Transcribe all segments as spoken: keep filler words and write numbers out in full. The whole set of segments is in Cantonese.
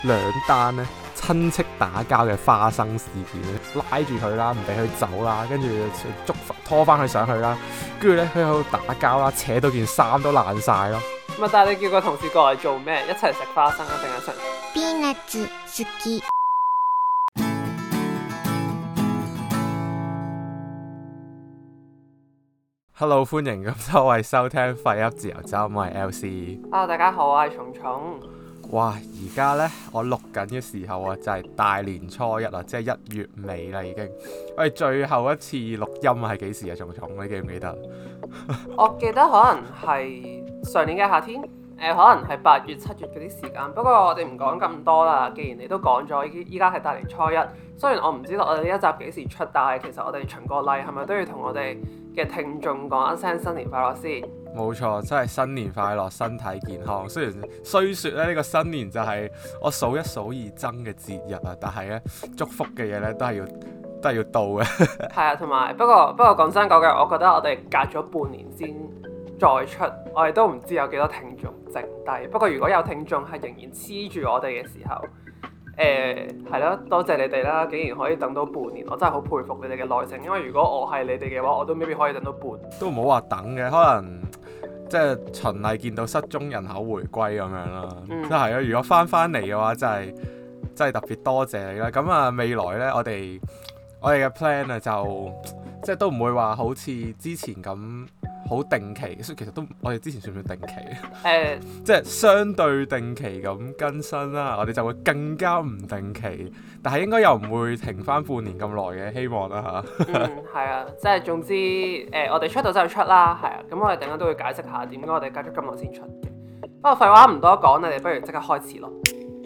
兩單咧親戚打交嘅花生事件咧，拉住佢啦，唔俾佢走啦，跟住捉拖翻佢上去啦，跟住咧佢喺度打交啦，扯到件衫都爛晒咯。 咪但係你叫個同事過嚟做咩？一齊食花生啊，定係食？ ピーナッツ好き。 Hello， 歡迎咁多位收聽廢噏自由周，我係 L C。 Hello， 大家好，我係蟲蟲。 哇！而家呢，我錄緊嘅時候啊，就係大年初一啊，即係一月尾啦已經。我哋最後一次錄音係幾時啊？蟲蟲，你記唔記得？ 我記得可能係上年嘅夏天，誒、呃、可能係八月、七月嗰啲時間。不過我哋唔講咁多啦，既然你都講咗，依家係大年初一。雖然我唔知道我哋呢一集幾時出，但係其實我哋循個例係咪都要同我哋嘅聽眾講一聲新年快樂先？冇錯，真係新年快樂，身體健康。雖然雖說咧呢個新年就係我數一數二憎嘅節日啊，但係咧祝福嘅嘢咧都係要都係要到嘅。係啊，同埋不過不過講真講句，我覺得我哋隔咗半年先再出，我哋都唔知有幾多聽眾剩低。不過如果有聽眾係仍然黐住我哋嘅時候，誒係咯，多謝你哋啦！竟然可以等到半年，我真係好佩服你哋嘅耐性。因為如果我係你哋嘅話，我都未必可以等到半年。 都唔好話等嘅，可能即係循例見到失蹤人口回歸咁樣啦。即係咯，如果翻翻嚟嘅話，真係真係特別多謝你啦。咁啊，未來呢，我哋我哋嘅 plan 啊，就即係都唔會話好似之前咁好定期，所以其實都我哋之前算唔算定期？誒、呃，即係相對定期咁更新啦。我哋就會更加唔定期，但係應該又唔會停翻半年咁耐嘅，希望啦嚇。 嗯，係啊，即係總之誒、呃，我哋出到就出啦，係啊。咁我哋陣間都會解釋下點解我哋隔咗咁耐先出嘅。不過廢話唔多講，你哋不如即刻開始咯。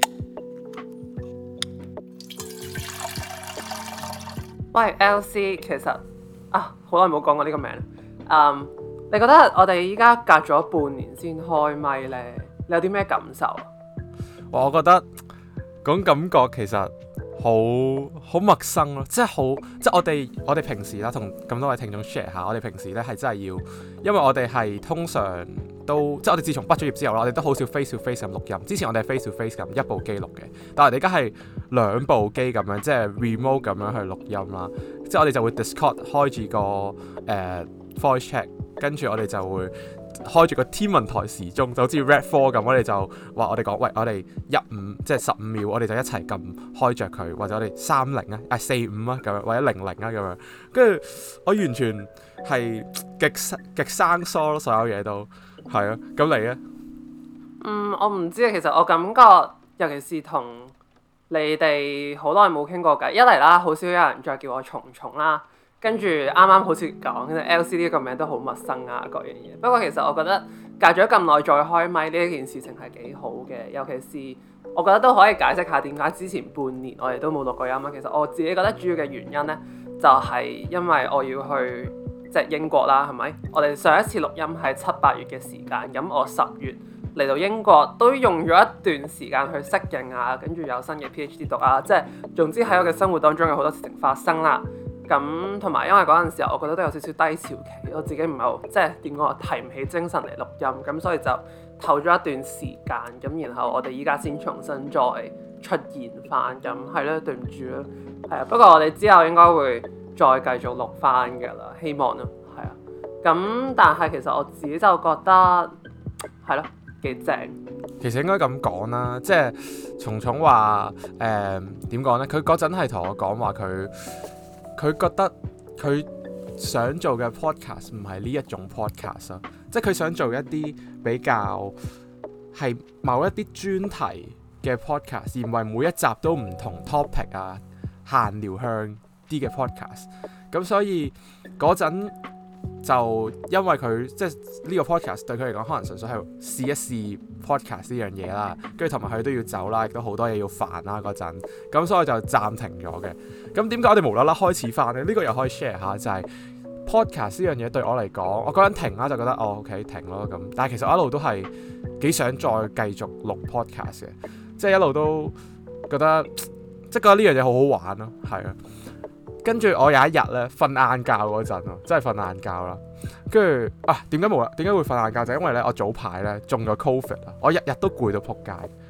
喂 ，L C， 其實啊，好耐冇講過呢個名。嗯。你覺得我哋依家隔咗半年先開咪呢？你有啲咩感受啊？ 我覺得嗰種感覺其實好好陌生咯，即係好即係我哋我哋平時啦，同咁多位聽眾 share 下，我哋平時咧係真係要，因為我哋係通常都即係我哋自從畢咗業之後啦，我哋都好少 face to face 咁錄音。之前我哋係 face to face 咁一部機錄嘅，但係我哋而家係兩部機咁樣，即係 remote 咁樣去錄音啦。即係我哋就會 Discord 開住個誒、呃、voice chat。跟住我哋就會開住個天文台時鐘，就好似 Red four 咁，我哋就話我哋講，喂，我哋一五即係十五秒，我哋就一齊撳開着佢，或者我哋三零啊，啊四五啊咁樣，或者零零啊咁樣。跟住我完全係極極生疏咯，所有嘢都係啊。咁你咧？ 嗯，我唔知啊。其實我感覺，尤其是同你哋好耐冇傾過偈，一嚟啦，好少有人再叫我蟲蟲啦。跟住啱啱好似講，其實 L C 呢個名都好陌生啊，各樣嘢。不過其實我覺得隔咗咁耐再開咪呢一件事情係幾好嘅，尤其是我覺得都可以解釋下點解之前半年我哋都冇錄過音啊。其實我自己覺得主要嘅原因呢，就係因為我要去即係英國啦，係咪？我哋上一次錄音係七八月嘅時間，咁我十月嚟到英國都用咗一段時間去適應啊，跟住有新嘅 PhD 讀啊，即係總之喺我嘅生活當中有好多事情發生啦。咁同埋因為嗰陣時候，我覺得都有少少低潮期，我自己唔係好即係點講，提唔起精神嚟錄音，咁所以就唞咗一段時間，咁然後我哋依家先重新再出現翻，咁係咯，對唔住咯，係啊，不過我哋之後應該會再繼續錄翻㗎啦，希望咯，係啊，咁但係其實我自己就覺得係咯幾正。 其實應該咁講啦，即係蟲蟲話誒點講咧？佢嗰陣係同我講話佢。佢覺得佢想做嘅 podcast 唔係呢一種 podcast 啊，即係佢想做一啲比較係某一啲專題嘅 podcast，而唔係每一集都唔同 topic 啊，閒聊向啲嘅 podcast。咁所以嗰陣就因為佢即係呢個 podcast 對佢嚟講，可能純粹係試一試 podcast 呢樣嘢啦，跟住同埋佢都要走啦，亦都好多嘢要煩啦嗰陣，咁所以就暫停咗嘅。咁點解我哋無啦啦開始翻呢？呢、呢個又可以 share 下，就係、是、podcast 呢樣嘢對我嚟講，我嗰陣停啦就覺得哦 OK 停咯咁，但係其實我一路都係幾想再繼續錄 podcast 嘅，即係一路都覺得即係覺得呢樣嘢好好玩咯，係啊。跟住我有一日咧瞓晏覺嗰陣咯，真係瞓晏覺啦。跟住啊，點解冇啦？點解會瞓晏覺？就係、因為咧我早排咧中咗 Covid 啊，我日日都攰到仆街。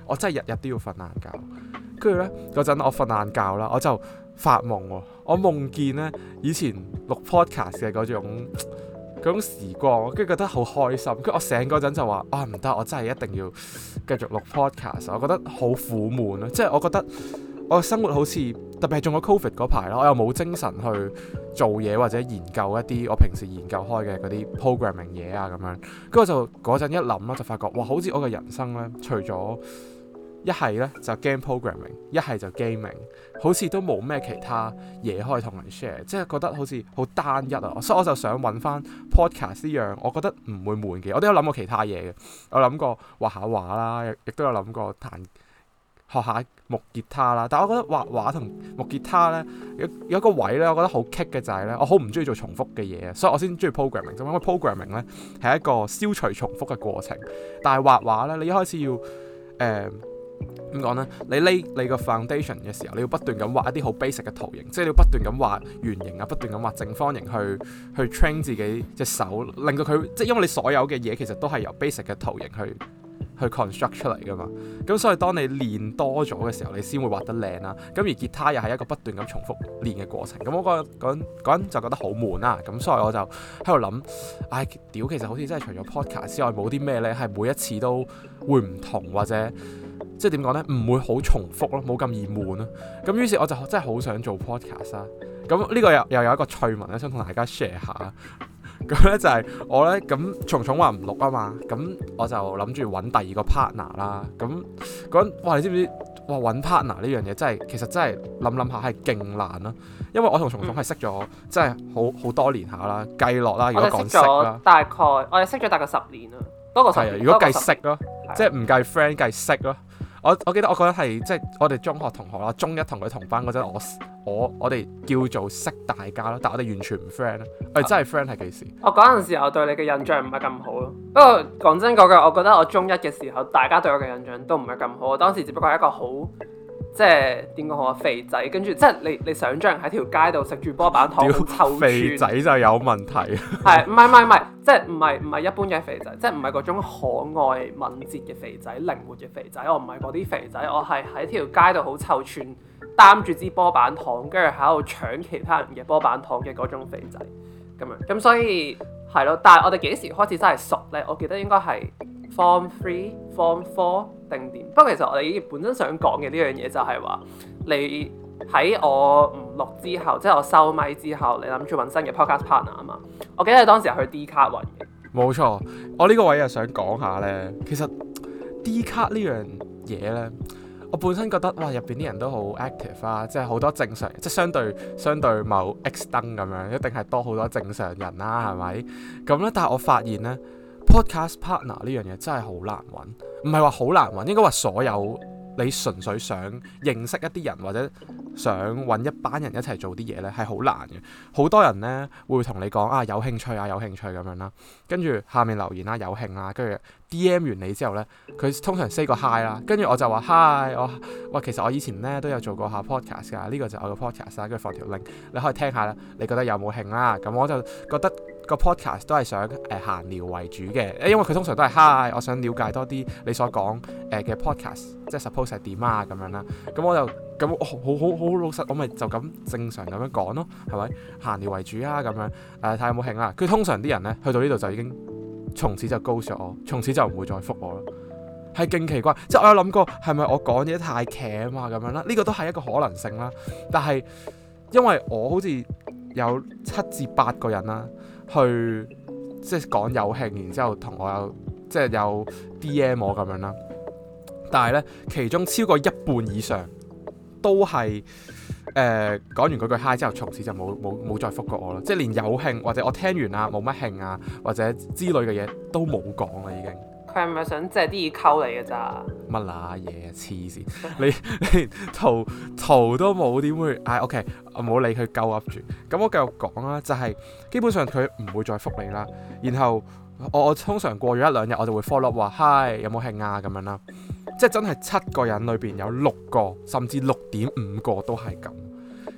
我真係日日都要瞓晏覺。跟住咧嗰陣我瞓晏覺啦，我就發夢喎，我夢見咧以前錄 podcast 嘅嗰種嗰種時光，跟住覺得好開心。跟住我醒嗰陣就話啊唔得，我真係一定要繼續錄 podcast。我覺得好苦悶啊，即係我覺得我生活好似特別係中咗 covid 嗰排啦，我又冇精神去做嘢或者研究一啲我平時研究開嘅嗰啲 programming 嘢啊咁樣。跟住我就嗰陣一諗啦，就發覺哇，好似我嘅人生咧，除咗一係咧就 game programming， 一係就 gaming， 好似都冇咩其他嘢可以同人 share， 即係覺得好似好單一啊，所以我就想揾翻 podcast 呢樣，我覺得唔會悶嘅。我都有諗過其他嘢嘅，我諗過畫下畫啦，亦都有諗過彈學下木吉他啦。但係我覺得畫畫同木吉他咧有有一個位咧，我覺得好棘嘅就係咧，我好唔中意做重複嘅嘢，所以我先中意 programming。因為 programming 咧係一個消除重複嘅過程，但係畫畫咧，你一開始要誒。呃點講呢？你 lay 你個 foundation 嘅時候，你要不斷咁畫一啲好 basic 嘅圖形，即係你要不斷咁畫圓形啊，不斷咁畫正方形去去 train 自己隻手，令到佢即係因為你所有嘅嘢其實都係由 basic 嘅圖形去去 construct 出嚟噶嘛。咁所以當你練多咗嘅時候，你先會畫得靚啦。咁而吉他又係一個不斷咁重複練嘅過程。咁我嗰嗰嗰陣就覺得好悶啦。咁所以我就喺度諗，唉，屌，其實好似真係除咗 podcast 之外，冇啲咩呢係每一次都會唔同或者。即係點講呢？唔會好重複咯，冇咁易悶咯。咁於是我就真係好想做 podcast 啦。咁呢個又又有一個趣聞咧，想同大家 share 下。咁咧就係我咧咁，蟲蟲話唔錄啊嘛。咁我就諗住揾第二個 partner 啦。咁嗰陣哇，你知唔知？哇，揾 partner 呢樣嘢真係其實真係諗諗下係勁難咯。因為我同蟲蟲係識咗、嗯、真係好好多年下啦，計落啦。如果講識啦， 大概我哋識咗大概十年啦，多過十年。 如果計識咯，即係唔計 friend 計識咯。我我記得我覺得係即係我哋中學同學啦，中一同佢同班嗰陣，我我我哋叫做識大家咯，但係我哋完全唔 friend 咯。我哋真係 friend 係幾時？ 我嗰陣時候對你嘅印象唔係咁好咯。不過講真嗰句，我覺得我中一嘅時候，大家對我嘅印象都唔係咁好。我當時只不過係一個好即係點講好啊，肥仔，跟住即係你你想象喺條街度食住波板糖好臭串， 肥仔就有問題。 係唔係唔係唔係，即係唔係唔係一般嘅肥仔，即係唔係嗰種可愛敏捷嘅肥仔，靈活嘅肥仔。我唔係嗰啲肥仔，我係喺條街度好臭串，擔住支波板糖，跟住喺度搶其他人嘅波板糖嘅嗰種肥仔咁樣。咁所以係咯，但係我哋幾時開始真係熟咧？我記得應該係 Form Three、Form Four 定點。不過其實我哋本身想講嘅呢樣嘢就係話，你喺我唔錄之後，即係我收咪之後，你諗住揾新嘅 podcast partner 啊嘛？我記得你當時係去 D 卡揾嘅。冇錯，我呢個位又想講下咧，其實 D 卡呢樣嘢咧，我本身覺得哇，入邊啲人都好 active 啊，即係好多正常，即係相對相對某 X 燈咁樣，一定係多好多正常人啦、啊，係咪？咁咧，但係我發現咧 podcast partner 呢樣嘢真係好難揾，唔係話好難揾，應該話所有你純粹想認識一啲人或者想揾一班人一齊做啲嘢咧，係好難嘅。好多人咧會同你講啊，有興趣啊，有興趣咁樣啦，跟住下面留言啦，有興啦，跟住 D M 完你之後咧，佢通常 say 個 hi 啦，跟住我就話 hi， 我哇其實我以前咧都有做過下 podcast 㗎，呢個就我個 podcast 啦，跟住放條 link，你可以聽下啦，你覺得有冇興啦？咁我就覺得個 podcast 都係想誒閒、呃、聊為主嘅，因為佢通常都係 hi， 我想了解多啲你所講誒嘅 podcast，即係 suppose 係點啊咁樣啦，咁我就咁好好好好老實，我咪就咁正常咁樣講咯，係咪閒聊為主啊咁樣誒睇下有冇興啦？佢通常啲人咧去到呢度就已經從此就 ghost 咗我，從此就唔會再覆我咯，係勁奇怪，即係我有諗過係咪我講嘢太茄啊咁樣啦？呢個都係一個可能性啦，但係因為我好似有七至八個人啦，去即係講有興，然之後同我有即係有 D M 我咁樣啦，但係咧其中超過一半以上都係誒講完嗰句 hi 之後，從此就冇冇冇再覆過我啦，即係連有興或者我聽完啊冇乜興啊或者之類嘅嘢都冇講啦已經。 佢係咪想借啲嘢溝你嘅咋？ 乜乸嘢啊！黐線，你你圖圖都冇點會？唉 OK，我冇理佢鳩噏住。咁我繼續講啦，就係、是、基本上佢唔會再覆你啦。然後我我通常過咗一兩日，我就會 follow up 話 hi 有冇興啊咁樣啦。即係真係七個人裏邊有六個甚至六點五個都係咁。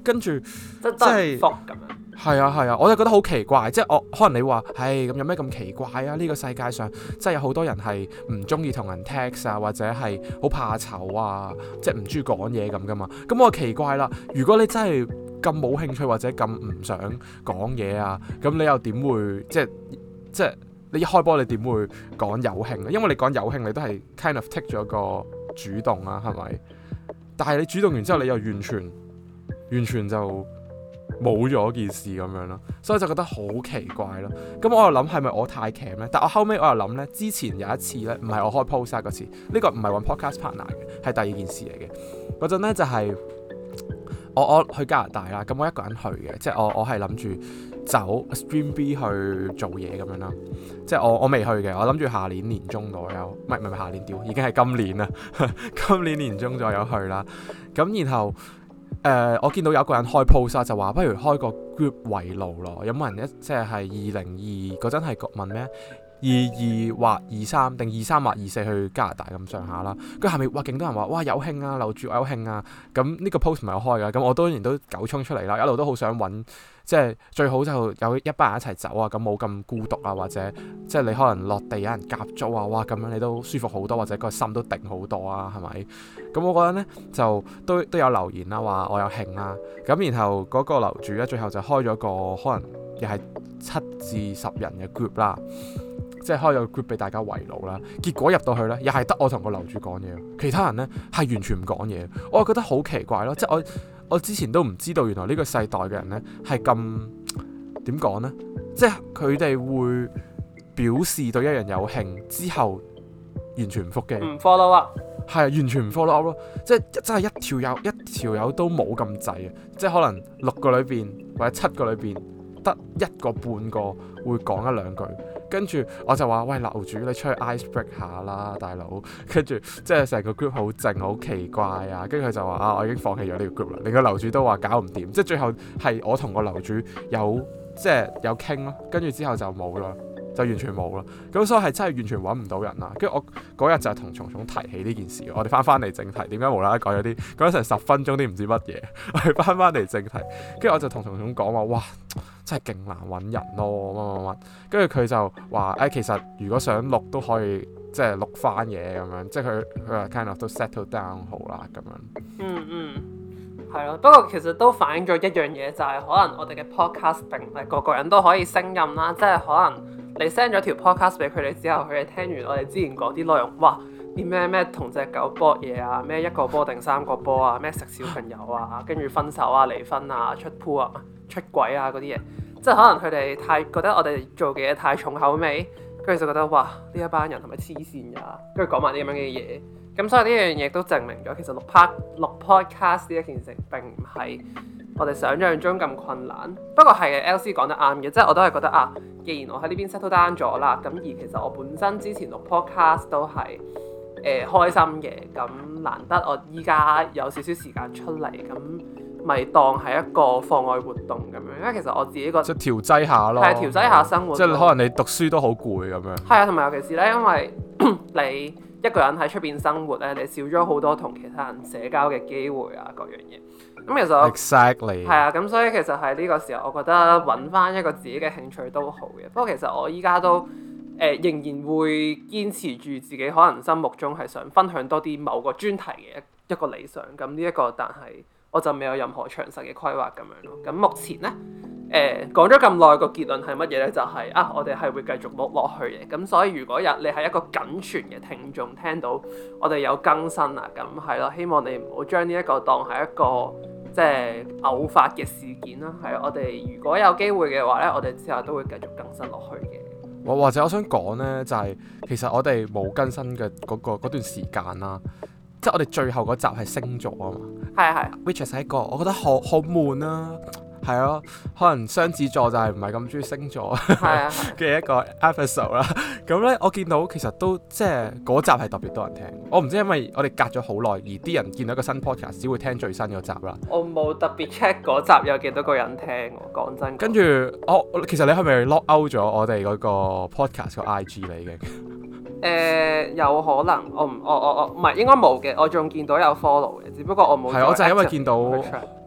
跟住即係復咁樣。 係啊係啊，我就覺得好奇怪，即係我可能你話，係咁有咩咁奇怪啊？呢個世界上即係有好多人係唔中意同人 text 啊，或者係好怕醜啊，即係唔中意講嘢咁噶嘛。咁我奇怪啦，如果你真係咁冇興趣或者咁唔想講嘢啊，咁你又點會即係即係你一開波你點會講有興咧？因為你講有興你都係 kind of take 咗個主動啊，係咪？但係你主動完之後，你又完全完全就冇咗件事咁樣咯，所以就覺得好奇怪咯。咁我又諗係咪我太鉗咧？但我後尾我又諗咧，之前有一次咧，唔係我開 post 嗰次，呢、呢個唔係揾 podcast partner 嘅，係第二件事嚟嘅。嗰陣咧就係、是、我我去加拿大啦，咁我一個人去嘅，即係我我係諗住走 Stream B 去做嘢咁樣啦。即係我我未去嘅，我諗住下年年中左右，唔係唔係下年屌，已經係今年啦，今年年中左右去啦。咁然後。誒、呃，我見到有個人開 post 就話不如開個 group 圍爐咯，有冇人一即係係二零二嗰陣係問咩？二二或二三定二三或二四去加拿大咁上下啦。跟住下面哇，勁多人話哇有興啊，樓住有興啊。咁呢個 post 唔係我開㗎，咁我當然都狗衝出嚟啦，一路都好想揾。即係最好就有一班人一齊走啊，咁冇咁孤獨啊，或者即係你可能落地有人夾租啊，哇咁樣你都舒服好多，或者個心都定好多啊，係咪？咁我覺得呢，就都都有留言啦，話我有興啦，咁然後嗰個樓主咧最後就開咗個可能又係七至十人嘅 group 啦，即係開咗個 group 俾大家圍爐啦。結果入到去呢，又係得我同個樓主講嘢，其他人呢係完全唔講嘢，我覺得好奇怪咯，即係我。我之前都唔知道，原來呢個世代嘅人呢係咁點講呢？即係佢哋會表示對一樣有興之後，完全唔覆嘅， 唔 follow up， 係完全唔 follow up 咯。即係真係一條友一條友都冇咁滯啊！即係可能六個裏邊或者七個裏邊得一個半個會講一兩句。跟住我就話：喂，樓主，你出去 ice break 下啦，大佬。跟住即係成個 group 好靜，好奇怪啊。跟住佢就話：啊，我已經放棄咗呢個 group 啦。連個樓主都話搞唔掂。即係最後係我同個樓主有即係有傾咯。跟住之後就冇啦，就完全冇啦。咁所以係真係完全揾唔到人啦。跟住我嗰日就係同蟲蟲提起呢件事。我哋翻翻嚟正題，點解無啦啦講咗啲講咗成十分鐘啲唔知乜嘢？我哋翻翻嚟正題，跟住我就同蟲蟲講話：哇！真係勁難揾人咯，乜乜乜，跟住佢就話：誒、哎，其實如果想錄都可以，即係錄翻嘢咁樣，即係佢佢話 kind of 都 settle down 好啦咁樣。 嗯嗯，係咯。不過其實都反映咗一樣嘢，就係、是、可能我哋嘅 podcast 並唔係個個人都可以勝任啦。即係可能你 send 咗條 podcast 俾佢哋之後，佢哋聽完我哋之前講啲內容，哇！啲咩咩同隻狗搏嘢啊，咩一個波定三個波啊，咩食小朋友啊，跟住分手啊、離婚啊、出 pool 啊、出軌啊嗰啲嘢，即係可能佢哋太覺得我哋做嘅嘢太重口味，跟住就覺得哇呢一班人係咪黐線㗎？跟住講埋啲咁樣嘅嘢，咁所以呢樣嘢都證明咗其實錄 pod 錄 podcast 呢一件事並唔係我哋想象中咁困難。不過係嘅 ，L C 講得啱嘅，即係我都係覺得啊，既然我喺呢邊 settle down 咗啦，咁而其實我本身之前錄 podcast 都係。誒、呃、開心嘅，咁難得我依家有少少時間出嚟，咁咪當係一個課外活動咁樣。因為其實我自己個即係調劑下咯， 係調劑下生活。 即係可能你讀書都好攰咁樣。係啊，同埋尤其是咧，因為你一個人喺出邊生活咧，你少咗好多同其他人社交嘅機會啊，各樣嘢。咁其實 exactly 係啊，咁所以其實喺呢個時候，我覺得揾翻一個自己嘅興趣都好嘅。不過其實我依家都。誒、呃、仍然會堅持住自己可能心目中係想分享多啲某個專題嘅一一個理想，咁呢一個但係我就未有任何詳細嘅規劃咁樣咯。咁目前咧誒講咗咁耐個結論係乜嘢咧？就係、是、啊，我哋係會繼續錄落去嘅。咁所以如果日你係一個僅存嘅聽眾，聽到我哋有更新啊，咁係咯，希望你唔好將呢一個當係一個即係偶發嘅事件啦。係我哋如果有機會嘅話咧，我哋之後都會繼續更新落去嘅。 或者我想講呢，就係、是、其實我哋冇更新嘅嗰、那個段時間啦，即係我哋最後嗰集係星座啊嘛， 係啊係啊 ，which 係一個我覺得好好悶啊，係咯，可能雙子座就係唔係咁中意星座嘅一個 episode 啦。咁咧，我見到其實都即係嗰集係特別多人聽。我唔知因為我哋隔咗好耐，而啲人見到一個新 podcast 只會聽最新嗰集啦。 我冇特別 check 嗰集有幾多個人聽喎，講真。跟住我其實你係咪 lock out 咗我哋嗰個 podcast 個 I G 嚟嘅？誒、 呃，有可能我唔我我我唔係應該冇嘅，我仲見到有 follow 嘅，只不過我冇。 係，我就係因為見到。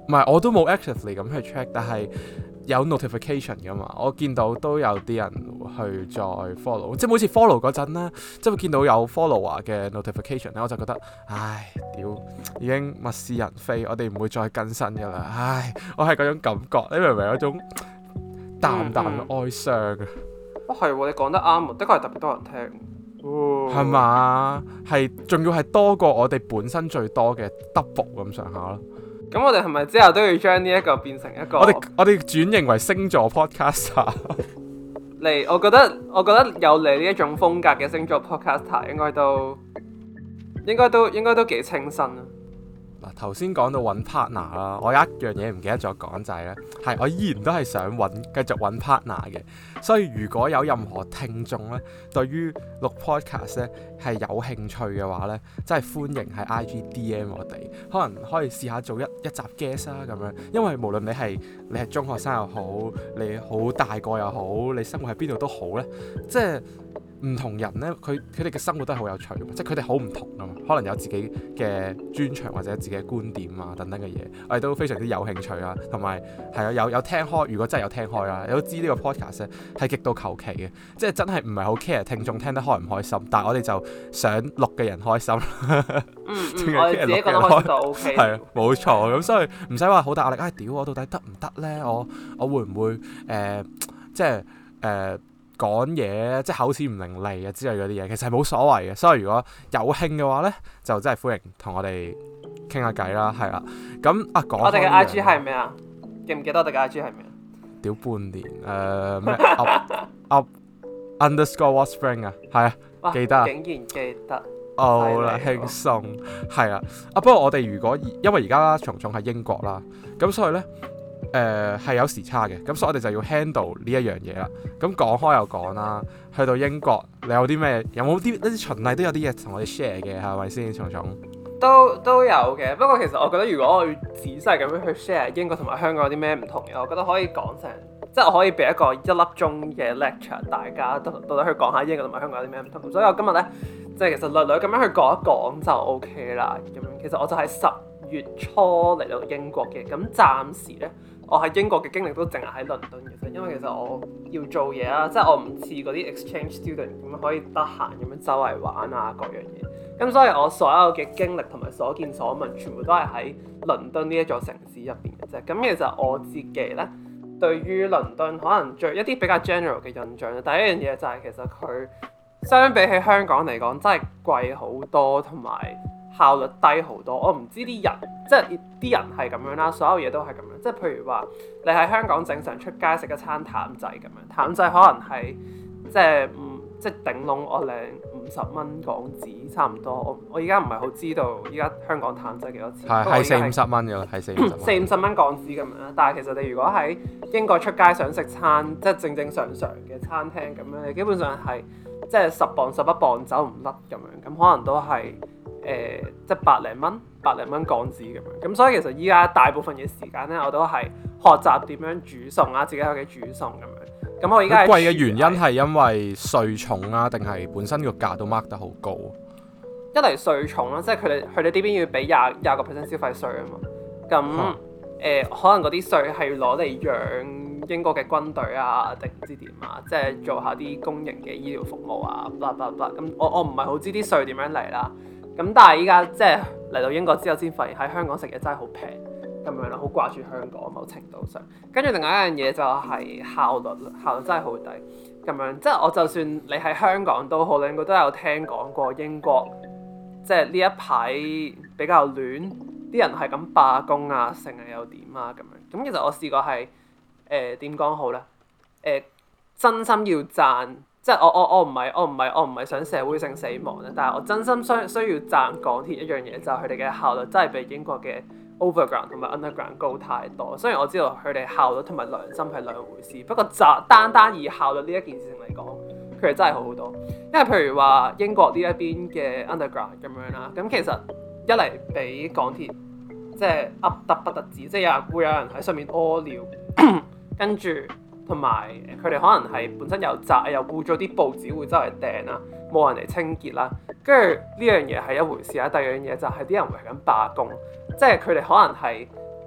唔係我都冇 actively 咁去 check，但係有 notification 噶嘛，我見到都有啲人去再 follow， 即係每次 follow 嗰陣咧，即係會見到有 follower 嘅 notification 咧，我就覺得唉屌已經物是人非，我哋唔會再更新噶啦，唉我係嗰種感覺，你明唔明嗰種淡淡嘅哀傷啊？ 哦係喎，你講得啱喎，的確係特別多人聽， 係嘛？係仲要係多過我哋本身最多嘅 double 咁上下咯。 咁我哋係咪之後都要將呢一個變成一個？ 我哋我哋轉型為星座 podcaster 嚟，我覺得我覺得有你呢一種風格嘅星座 podcaster 應該都應該都應該都幾清新啊！ 嗱，頭先講到揾 partner 啦，我有一樣嘢唔記得咗講就係咧，係我依然都係想揾繼續揾 partner 嘅，所以如果有任何聽眾咧對於錄 podcast 咧係有興趣嘅話咧，真係歡迎喺 I G D M 我哋，可能可以試下做一一集 guest 啊咁樣，因為無論你係你係中學生又好，你好大個又好，你生活喺邊度都好咧，即係。唔同人咧，佢佢哋嘅生活都係好有趣，即係佢哋好唔同啊嘛。可能有自己嘅專長或者自己嘅觀點啊等等嘅嘢，我哋都非常之有興趣啊。同埋係啊，有有聽開，如果真係有聽開啦，你都知呢個 podcast 咧係極度求其嘅，即係真係唔係好 care 聽眾聽得開唔開心，但係我哋就想錄嘅人開心。 嗯嗯，我哋自己覺得開心就 OK。 係啊，冇錯。咁所以唔使話好大壓力。唉、哎，屌我到底得唔得咧？我我會唔會誒、呃、即係誒？呃講嘢即係口齒唔伶俐啊之類嗰啲嘢，其實係冇所謂嘅。所以如果有興嘅話咧，就真係歡迎同我哋傾下偈啦，係啦。咁啊講我哋嘅 I G 係咩啊？記唔記得我哋嘅 I G 係咩啊？ 屌半年誒咩 up up underscore what spring 啊，係啊，記得啊， 竟然記得。 好啦，輕鬆係啊。啊不過我哋如果因為而家蟲蟲喺英國啦，咁所以咧。誒係、呃、有時差嘅，咁所以我哋就要 handle 呢一樣嘢啦。咁講開又講啦，去到英國你有啲咩？有冇啲一啲循例都有啲嘢同我哋 share 嘅係咪先？蟲蟲都都有嘅，不過其實我覺得如果我要仔細咁樣去 share 英國同埋香港有啲咩唔同嘅，我覺得可以講成，即係我可以俾一個一粒鐘嘅 lecture，大家到到底去講下英國同埋香港有啲咩唔同。所以我今日咧，即係其實略略咁樣去講一講就 OK 啦。咁樣其實我就係十月初嚟到英國嘅，咁暫時咧。我喺英國嘅經歷都淨係喺倫敦嘅啫，因為其實我要做嘢啦，即係我唔似嗰啲 exchange student 咁樣可以得閒咁樣周圍玩啊各樣嘢。咁所以我所有嘅經歷同埋所見所聞，全部都係喺倫敦呢一座城市入邊嘅啫。咁其實我自己咧，對於倫敦可能最一啲比較 general 嘅印象咧，第一樣嘢就係其實佢相比起香港嚟講，真係貴好多，同埋效率低好多。我唔知啲人，即係啲人係咁樣啦，所有嘢都係咁樣。即係譬如話，你喺香港正常出街食一餐淡仔咁樣，淡仔可能係即係唔即係頂籠我領五十蚊港紙差唔多。我我而家唔係好知道依家香港淡仔幾多錢？ 係係四五十蚊㗎啦，係四五十蚊。 四五十蚊港紙咁樣啦。但係其實你如果喺英國出街想食餐即係正正常常嘅餐廳咁樣，你基本上係即係十磅十一磅走唔甩咁樣，咁可能都係。誒、呃，即係百零蚊、百零蚊港紙咁樣，咁所以其實依家大部分嘅時間咧，我都係學習點樣煮餸啊，自己喺屋企煮餸咁樣。咁我依家貴嘅原因係因為稅重啊，定係本身個價都 mark 得好高？一嚟稅重啦，即係佢哋佢哋呢邊要俾廿廿個 percent 消費稅啊嘛。咁誒、嗯呃，可能嗰啲稅係要攞嚟養英國嘅軍隊啊，定唔知點啊，即係做下啲公營嘅醫療服務啊，blah blah blah。咁我我唔係好知啲稅點樣嚟啦。咁但係依家即係嚟到英國之後，先發現喺香港食嘢真係好平咁樣啦，好掛住香港某程度上。跟住另外一樣嘢就係效率啦，效率真係好低咁樣。即係我就算你喺香港都好，你應該都有聽講過英國，即係呢一排比較亂，啲人係咁罷工啊，成日又點啊咁樣。咁其實我試過係誒點講好咧？誒、呃、真心要讚。即係我我我唔係我唔係我唔係想社會性死亡咧，但係我真心需需要讚港鐵一樣嘢，就係佢哋嘅效率真係比英國嘅 overground 同埋 underground 高太多。雖然我知道佢哋效率同埋良心係兩回事，不過就單單以效率呢一件事情嚟講，佢哋真係好好多。因為譬如話英國呢一邊嘅 underground 咁樣啦，咁其實一嚟俾港鐵即係噏得不得止，即係有人會有人喺上面屙尿，跟住。同埋佢哋可能係本身有雜又污咗啲報紙會周圍掟啦，冇人嚟清潔啦，跟住呢樣嘢係一回事啦。第二樣嘢就係啲人為緊罷工，即係佢哋可能係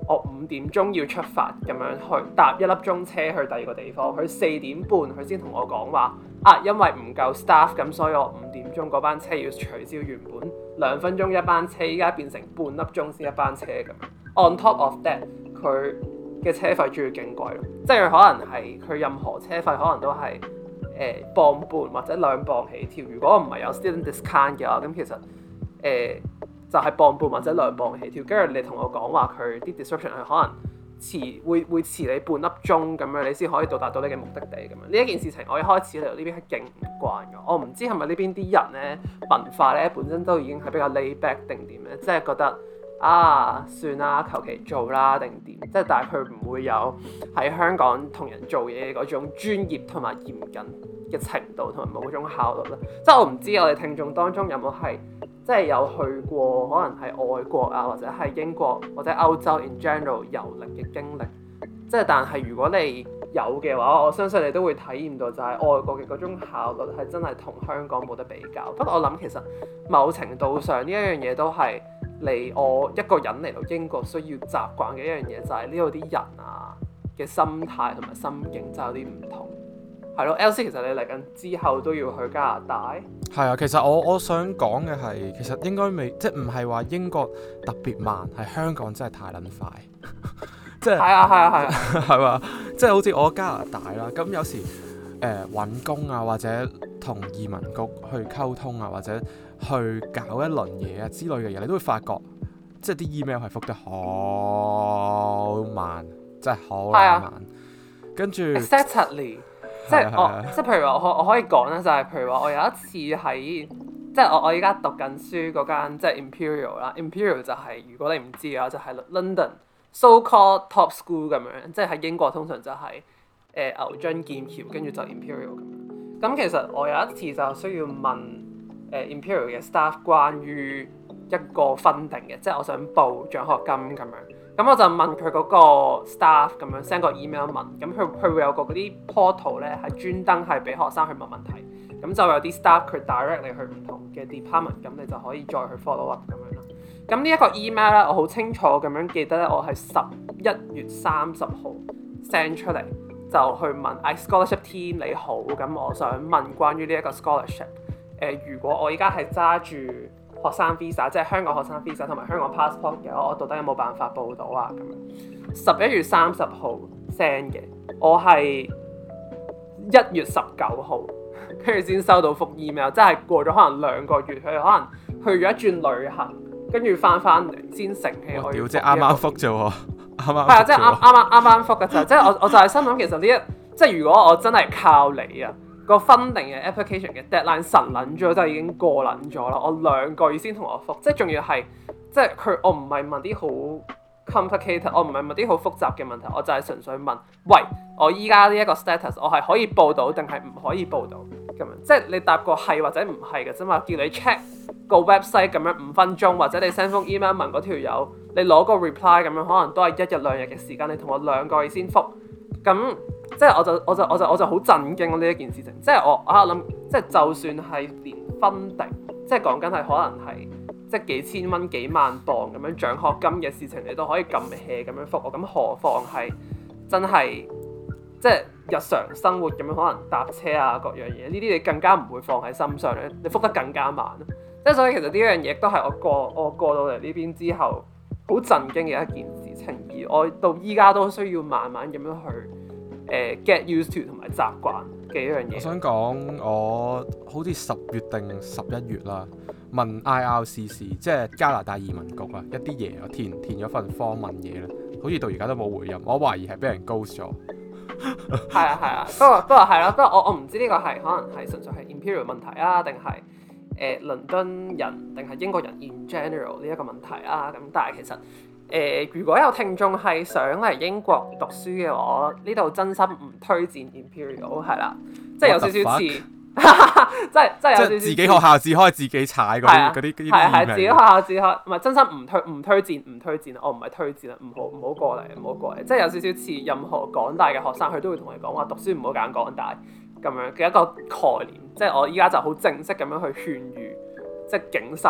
我五點鐘要出發咁樣去搭一粒鐘車去第二個地方，佢四點半佢先同我講話啊，因為唔夠 staff 咁，所以我五點鐘嗰班車要取消，原本兩分鐘一班車，依家變成半粒鐘先一班車咁。On top of that，佢嘅車費仲要勁貴咯，即係佢可能係佢任何車費可能都係誒磅半或者兩磅起跳。如果唔係有 student discount 嘅話，咁其實誒。呃就係磅半或者兩磅起跳，跟住你同我講話佢啲 description 係可能遲會會遲你半粒鐘咁樣，你先可以到達到你嘅目的地咁樣。呢一件事情我一開始嚟到呢邊係勁唔慣嘅，我唔知係咪呢邊啲人咧文化咧本身都已經係比較 laid back 定點咧，即係覺得啊算啦，求其做啦定點，即係但係佢唔會有喺香港同人做嘢嘅嗰種專業同埋嚴謹嘅程度同埋某種效率啦。即係我唔知我哋聽眾當中有冇係。即係有去過，可能係外國啊，或者係英國或者歐洲 in general 遊歷嘅經歷。即係但係如果你有嘅話，我相信你都會體驗到就係外國嘅嗰種效率係真係同香港冇得比較。不過我諗其實某程度上呢一樣嘢都係嚟我一個人嚟到英國需要習慣嘅一樣嘢，就係呢度啲人啊嘅心態同埋心境就有啲唔同。係咯 ，L C 其實你嚟緊之後都要去加拿大。 係啊，其實我我想講嘅係，其實應該未，即係唔係話英國特別慢，係香港真係太撚快。即係係啊係啊係啊， 係嘛？即係好似我加拿大啦，咁有時誒揾、呃、工啊，或者同移民局去溝通啊，或者去搞一輪嘢啊之類嘅嘢，你都會發覺，即係啲 email 係覆得好慢，真係好慢。啊、跟住 exactly。即係我，即係譬如話我我可以講咧，就係、是、譬如話我有一次喺，即係我我依家讀緊書嗰間即係 Imperial 啦 ，Imperial 就係、是、如果你唔知嘅話，就係、是、London so-called top school 咁樣，即係喺英國通常就係、是、誒、呃、牛津劍橋，跟住就 Imperial 咁樣。咁其實我有一次就需要問誒、呃、Imperial 嘅 staff 關於一個 funding 嘅，即係我想報獎學金咁樣。咁我就問佢嗰個 staff 咁樣 send 個 email 問，咁佢佢會有個嗰啲 portal 咧係專登係俾學生去問問題，咁就有啲 staff 佢 direct 你去唔同嘅 department，咁你就可以再去 follow up 咁樣啦。咁呢一個 email 咧，我好清楚咁樣記得咧，我係十一月三十號 send 出嚟，就去問 I scholarship team 你好，咁我想問關於呢一個 scholarship，誒、呃、如果我依家係揸住學生 visa 即係香港學生 visa 同埋香港 passport 嘅，我到底有冇辦法報到啊？咁樣十一月三十號 send 嘅，我係一月十九號跟住先收到覆 email，即係過咗可能兩個月，佢可能去咗一轉旅行，跟住翻翻嚟先成氣我要。即係啱啱覆啫喎，啱啱係啊，即係啱啱啱啱啱覆嘅就，即係我我就係心諗其實呢一即係如果我真係靠你啊！個 funding 嘅 application 嘅 deadline 神撚咗，就已經過撚咗啦。我兩個月先同我覆，即係仲要係即係佢，我唔係問啲好 complicated，我唔係問啲好複雜嘅問題，我就係純粹問，喂，我依家呢一個 status，我係可以報到定係唔可以報到咁樣？即係你答個係或者唔係嘅啫嘛，叫你 check 個 website 咁樣五分鐘，或者你 send 封 email 問嗰條友，你攞個 reply 咁樣，可能都係一日兩日嘅時間，你同我兩個月先覆咁。即係我就我就我就我就好震驚呢一件事情，即係我啊諗，即係就算係連funding，即係講緊係可能係即係幾千蚊幾萬磅咁樣獎學金嘅事情，你都可以咁 hea 咁樣覆我，咁何況係真係即係日常生活咁樣，可能搭車啊各樣嘢，呢啲你更加唔會放喺心上咧，你覆得更加慢。即係所以其實呢樣嘢都係我過我過到嚟呢邊之後好震驚嘅一件事情，而我到依家都需要慢慢咁樣去。誒 get used to 同埋習慣嘅一樣嘢。我想講， 我好似十月定十一月啦，問 I R C C， 即係加拿大移民局啊，一啲嘢我填填咗份 form 問嘢咧，好似到而家都冇回音，我懷疑係俾人 ghost 咗。 係啊係啊，不過不過係咯，不過我我唔知呢個係可能係純粹係 Imperial 問題啊，定係誒倫敦人定係英國人 in general 呢一個問題啊，咁但係其實。誒、呃，如果有聽眾係想嚟英國讀書嘅話，我呢度真心唔推薦 Imperial 係啦，即係有少少似，即係即係有少少自己學校自開自己踩嗰啲嗰啲嗰啲係係自己學校自開，唔係真心唔推唔推薦唔推薦，我唔係推薦啊，唔好唔好過嚟唔好過嚟，即係有少少似任何港大嘅學生，佢都會同你講話讀書唔好揀港大咁樣嘅一個概念，即係我依家就好正式咁樣去勸喻，即係警世。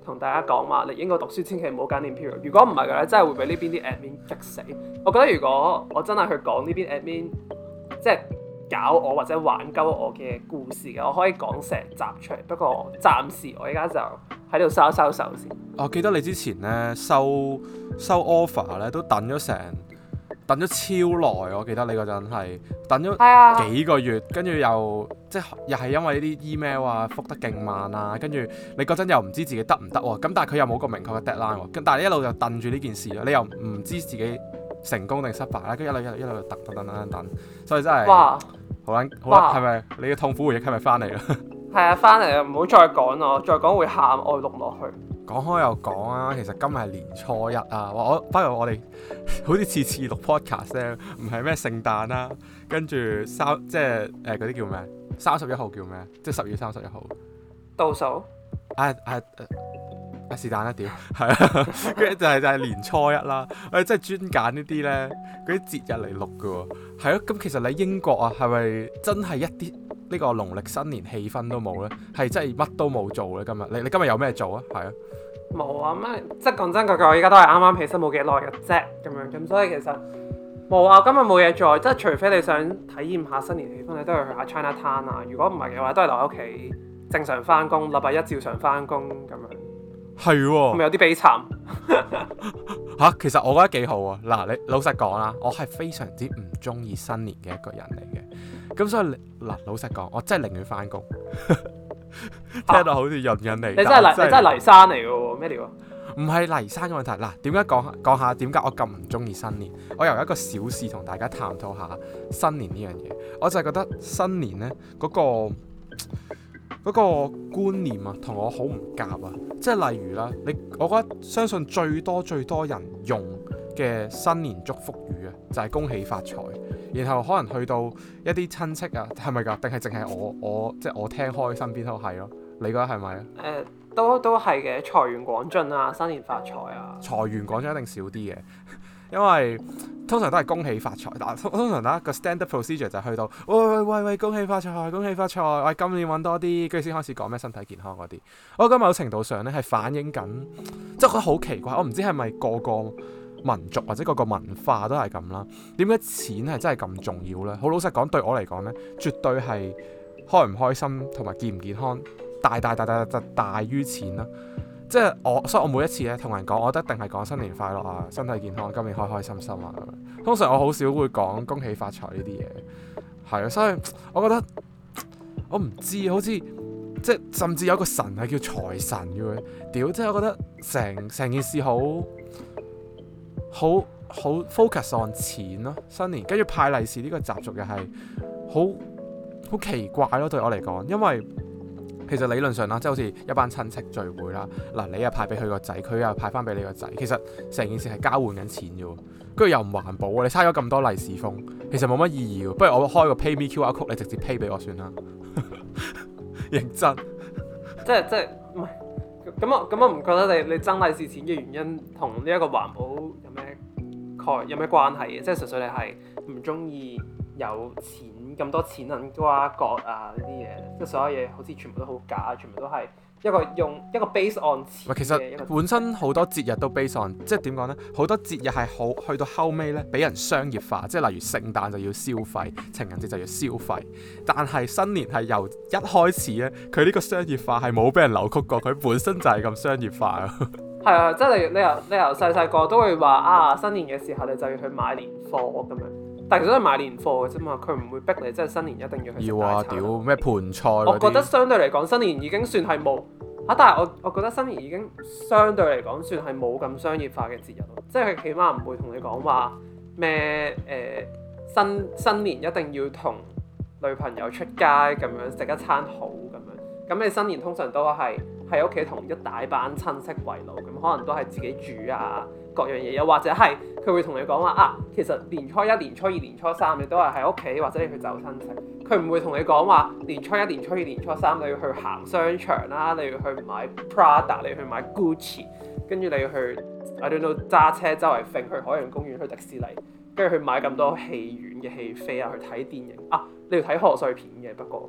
同大家講話，你應該讀書，千祈唔好揀念 period。如果唔係嘅咧，真係會俾呢邊啲 admin 激死。我覺得如果我真係去講呢邊 admin，即係搞我或者玩鳩我嘅故事嘅，我可以講成集出嚟。不過暫時我而家就喺度收收手先。 我記得你之前咧收收 offer 咧都等咗成等咗超耐，我記得你嗰陣係等咗幾個月，跟住又即係又係因為呢啲 email 啊覆得勁慢啊，跟住你嗰陣又唔知自己得唔得喎，咁但係佢又冇個明確嘅 deadline 喎，咁但係你一路就等住呢件事咯，你又唔知自己成功定失敗啦，跟住一路一路一路等等等等等，所以真係哇好撚好撚，係咪你嘅痛苦回憶係咪翻嚟啦？ 係啊，翻嚟啊，唔好再講咯，再講會喊，我錄落去。 講開又講啊，其實今日係年初一啊，我不如我哋好似次次錄 podcast 咧，唔係咩聖誕啦，跟住三即係誒嗰啲叫咩？三十一號叫咩？即係十月三十一號倒數。 啊啊啊是但啦屌，係啊，跟住就係就係年初一啦，我哋真係專揀呢啲咧嗰啲節日嚟錄㗎喎，係咯，咁其實你英國啊，係咪真係一啲呢個農曆新年氣氛都冇咧？係真係乜都冇做咧？今日你你今日有咩做啊？係啊。 冇啊，咩即係講真句句，我而家都係啱啱起身冇幾耐嘅啫，咁樣咁，所以其實冇啊，今日冇嘢做，即係除非你想體驗下新年氣氛，你都係去下 China Town 啊。如果唔係嘅話，都係留喺屋企正常翻工，禮拜一照常翻工咁樣。 係喎， 咪有啲悲慘嚇。其實我覺得幾好啊。嗱，你老實講啦，我係非常之唔中意新年嘅一個人嚟嘅。咁所以嗱，老實講，我真係寧願翻工。聽到好似潤緊你， 你真係泥，你真係泥山嚟嘅喎，咩料啊？ 唔係泥山嘅問題。嗱，點解講講下點解我咁唔中意新年？我由一個小事同大家探討下新年呢樣嘢。我就係覺得新年呢嗰個嗰個觀念啊，同我好唔夾啊。即係例如啦，你我覺得相信最多最多人用嘅新年祝福語啊，就係恭喜發財。然後可能去到一啲親戚啊，係咪㗎？定係淨係我我即係我聽開身邊都係咯？你覺得係咪啊？ 誒、呃，都都係嘅，財源廣進啊，新年發財啊。財源廣進一定少啲嘅，因為通常都係恭喜發財。但通常啦個 standard procedure 就係去到喂喂喂喂恭喜發財，恭喜發財，喂今年揾多啲，跟住先開始講咩身體健康嗰啲。我覺得某程度上咧係反映緊，即係覺得好奇怪。我唔知係咪個個民族或者嗰個文化都係咁啦，點解錢係真係咁重要呢？好老實講，對我嚟講呢，絕對係開唔開心同埋健唔健康大大大大大大於錢啦。即係我，所以我每一次咧同人講，我都一定係講新年快樂啊，身體健康，今年開開心心啊咁樣。通常我好少會講恭喜發財呢啲嘢，係啊，所以我覺得我唔知，好似即係甚至有個神係叫財神嘅，屌！即係我覺得成成件事好。好好 focus on 錢咯，新年跟住派利是呢個習俗又係好好奇怪咯，對我嚟講，因為其實理論上啦，即係好似一班親戚聚會啦，嗱你又派俾佢個仔，佢又派翻俾你個仔，其實成件事係交換緊錢啫喎，跟住又唔環保啊，你嘥咗咁多利是封，其實冇乜意義喎，不如我開個 pay me Q R code，你直接 pay 俾我算啦，認真， 即係即係唔係。咁我咁我唔覺得你你爭利是錢嘅原因同呢一個環保有咩概有咩關係嘅？即係純粹你係唔中意有錢咁多錢銀瓜葛啊呢啲嘢，即係所有嘢好似全部都好假，全部都係一個用一個 base on 錢嘅。 其實本身好多節日都 base on，即係點講呢？好多節日係好去到後尾呢，俾人商業化，即係例如聖誕就要消費，情人節就要消費。但係新年係由一開始呢，佢呢個商業化係冇俾人扭曲過，佢本身就係咁商業化啊。 係啊，即係你你由你由細細個都會話啊，新年嘅時候你就要去買年貨咁樣。但係其實都係買年貨嘅啫嘛，佢唔會逼你，即係新年一定要去食大餐。要啊，屌咩盤菜嗰啲。我覺得相對嚟講，新年已經算係冇嚇，但係我我覺得新年已經相對嚟講算係冇咁商業化嘅節日咯，即係佢起碼唔會同你講話咩誒新新年一定要同女朋友出街咁樣食一餐好咁樣。咁你新年通常都係喺屋企同一大班親戚圍爐，咁可能都係自己煮啊。各樣嘢，又或者係佢會同你講話啊，其實年初一、年初二、年初三你都係喺屋企，或者你去走親戚。佢唔會同你講話年初一、年初二、年初三你要去行商場啦，你要去買 Prada， 你要去買 Gucci， 跟住你要去 I don't know 揸車周圍揈去海洋公園、去迪士尼，跟住去買咁多戲院嘅戲飛啊，去睇電影啊，你要睇賀歲片嘅。不過誒、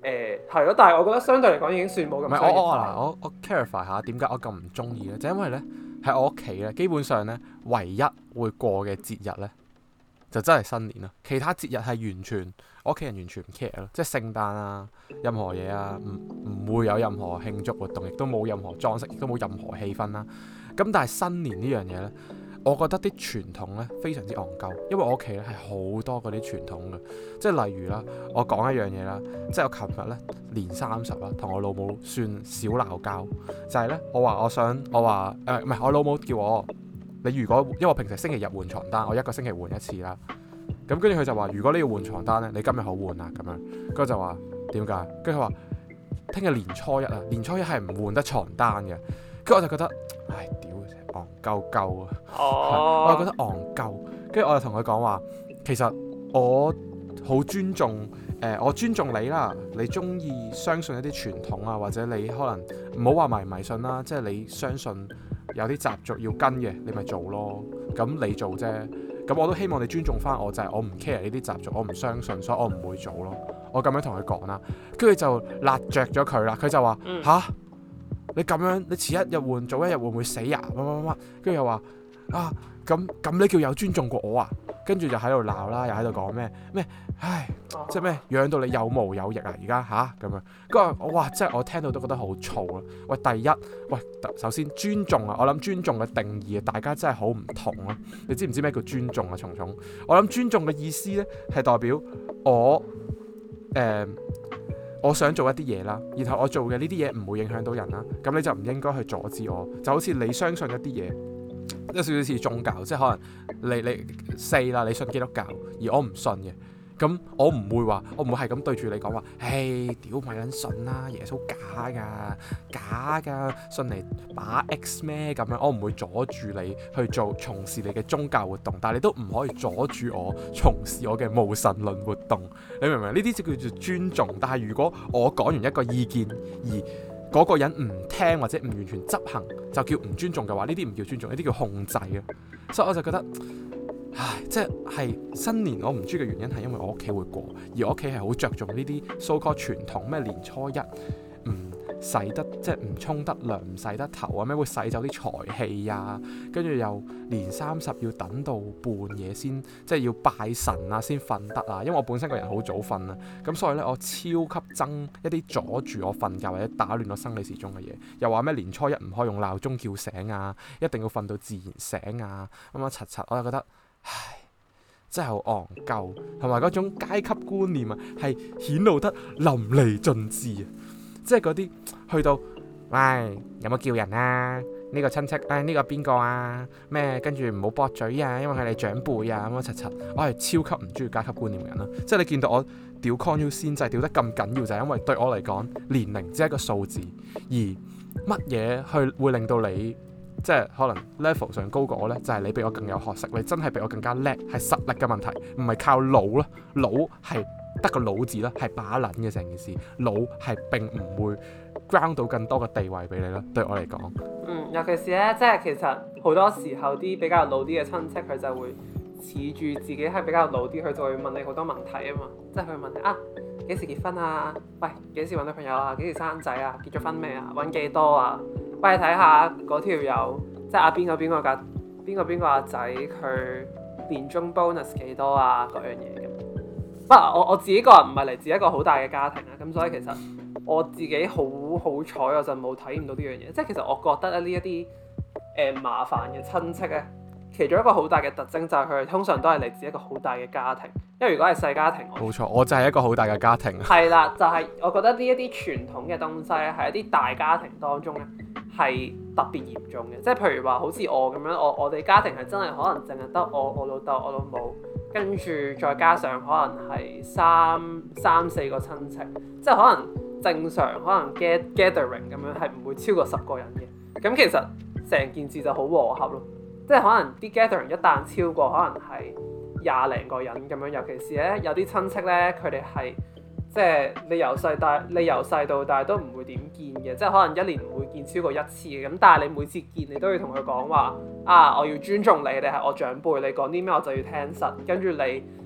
誒係咯，但係我覺得相對嚟講已經算冇咁。 唔係我我嗱我我 clarify 下點解我咁唔中意咧？就因為咧喺我屋企咧，基本上咧唯一會過嘅節日咧，就真係新年啦。其他節日係完全我屋企人完全唔 care 咯，即係聖誕啊，任何嘢啊，唔唔會有任何慶祝活動，亦都冇任何裝飾，亦都冇任何氣氛啦。咁但係新年呢樣嘢咧，我覺得啲傳統咧非常之戇鳩，因為我屋企咧係好多嗰啲傳統嘅，即係例如啦，我講一樣嘢啦，即係我琴日咧年三十啦，同我老母算小鬧交，就係咧我話我想我話誒唔係我老母叫我，你如果因為我平時星期日換床單，我一個星期換一次啦，咁跟住佢就話如果你要換床單咧，你今日好換啊咁樣，跟住就話點解？跟住佢話聽日年初一啊，年初一係唔換得床單嘅，跟住我就覺得唉屌！戇鳩鳩啊！我又覺得戇鳩，跟住我就同佢講話，其實我好尊重誒、呃，我尊重你啦。你中意相信一啲傳統啊，或者你可能唔好話迷唔迷信啦，即係你相信有啲習俗要跟嘅，你咪做咯。咁你做啫，咁我都希望你尊重翻我，就係、是、我唔 care 呢啲習俗，我唔相信，所以我唔會做咯。我咁樣同佢講啦，跟住就辣着咗佢啦。佢就話吓。嗯你咁樣，你遲一日換，早一日換會死呀？乜乜乜，跟住又話啊，咁咁你叫有尊重過我啊？跟住就喺度鬧啦，又喺度講咩咩，唉，即係咩養到你有毛有翼啊？而家吓咁樣，跟住我哇，即係我聽到都覺得好燥啊！喂，第一，喂，首先尊重啊，我諗尊重嘅定義啊，大家真係好唔同啊！你知唔知咩叫尊重啊？蟲蟲，我諗尊重嘅意思咧係代表我誒。呃我想做一啲嘢啦，然後我做嘅呢啲嘢唔會影響到人啦，咁你就唔應該去阻止我。就好似你相信一啲嘢，有少少似宗教，即係可能你你四啦，你信基督教，而我唔信嘅，咁我唔會話，我唔會係咁對住你講話，唉，屌咪撚信啦，耶穌假㗎，假㗎，信嚟把 X 咩咁樣，我唔會阻住你去做從事你嘅宗教活動，但係你都唔可以阻住我從事我嘅無神論活動，你明唔明？呢啲就叫做尊重。但係如果我講完一個意見而嗰個人唔聽或者唔完全執行，就叫唔尊重嘅話，呢啲唔叫尊重，呢啲叫控制啊。所以我就覺得。唉，即係新年我唔中意嘅原因係因為我屋企會過，而我屋企係好着重呢啲 so called 傳統，咩年初一唔洗得即係唔沖得涼唔洗得頭啊，咩會洗走啲財氣啊，跟住又年三十要等到半夜先即係要拜神啊先瞓得啊，因為我本身個人好早瞓啊，咁所以咧我超級憎一啲阻住我瞓覺或者打亂我生理時鐘嘅嘢，又話咩年初一唔可以用鬧鐘叫醒啊，一定要瞓到自然醒啊，咁樣柒柒，我就覺得。唉，真係好戇鳩，同埋嗰種階級觀念啊，係顯露得淋漓盡致啊！即係嗰啲去到，喂，有冇叫人啊？呢、呢個親戚，誒、哎，呢、呢個邊個啊？咩？跟住唔好駁嘴啊，因為佢哋長輩啊，咁樣柒柒。我係超級唔中意階級觀念嘅人啦。即係你見到我屌 Con U 先制屌得咁緊要，就係因為對我嚟講，年齡只係一個數字，而乜嘢去會令到你？即係可能 level 上高過我呢，就係、是、你比我更有學識，你真係比我更加叻，係實力嘅問題，唔係靠腦咯。腦係得個腦字啦，係把撚嘅成件事。腦係並唔會 ground 到更多嘅地位俾你咯。對我嚟講， 嗯，尤其是呢，即係其實好多時候啲比較老啲嘅親戚，佢就會恃住自己係比較老啲，佢就會問你好多問題啊嘛。即係佢問你啊，幾時結婚啊？喂，幾時揾女朋友啊？幾時生仔啊？結咗婚未啊？揾幾多啊？喂，睇下嗰條友，即係阿邊個邊個㗎？邊個邊個阿仔佢年終 bonus 幾多啊？嗰樣嘢咁。不過我我自己個人唔係嚟自一個好大嘅家庭啊，咁所以其實我自己好好彩，我就冇體驗到呢樣嘢。即係其實我覺得咧，呢一啲誒麻煩嘅親戚咧，其中一個好大嘅特徵就係佢哋通常都係嚟自一個好大嘅家庭。因為如果係細家庭， 冇錯，我就係一個好大嘅家庭。 係啦，就係、是、我覺得呢一啲傳統嘅東西咧，喺一啲大家庭當中咧，係特別嚴重嘅。即係譬如話，好似我咁樣，我我哋家庭係真係可能淨係得我、我老豆、我老母，跟住再加上可能係三三四個親戚，即係可能正常可能 gathering 咁樣係唔會超過十個人嘅。咁其實成件事就好和合咯。即係可能啲 gathering 一旦超過，可能係廿零個人咁樣，尤其是咧有啲親戚咧，佢哋係即係你由細大，你由細到大都唔會點見嘅，即係可能一年唔會見超過一次嘅。咁但係你每次見你都要同佢講話啊，我要尊重你，你係我長輩，你講啲咩我就要聽實。跟住你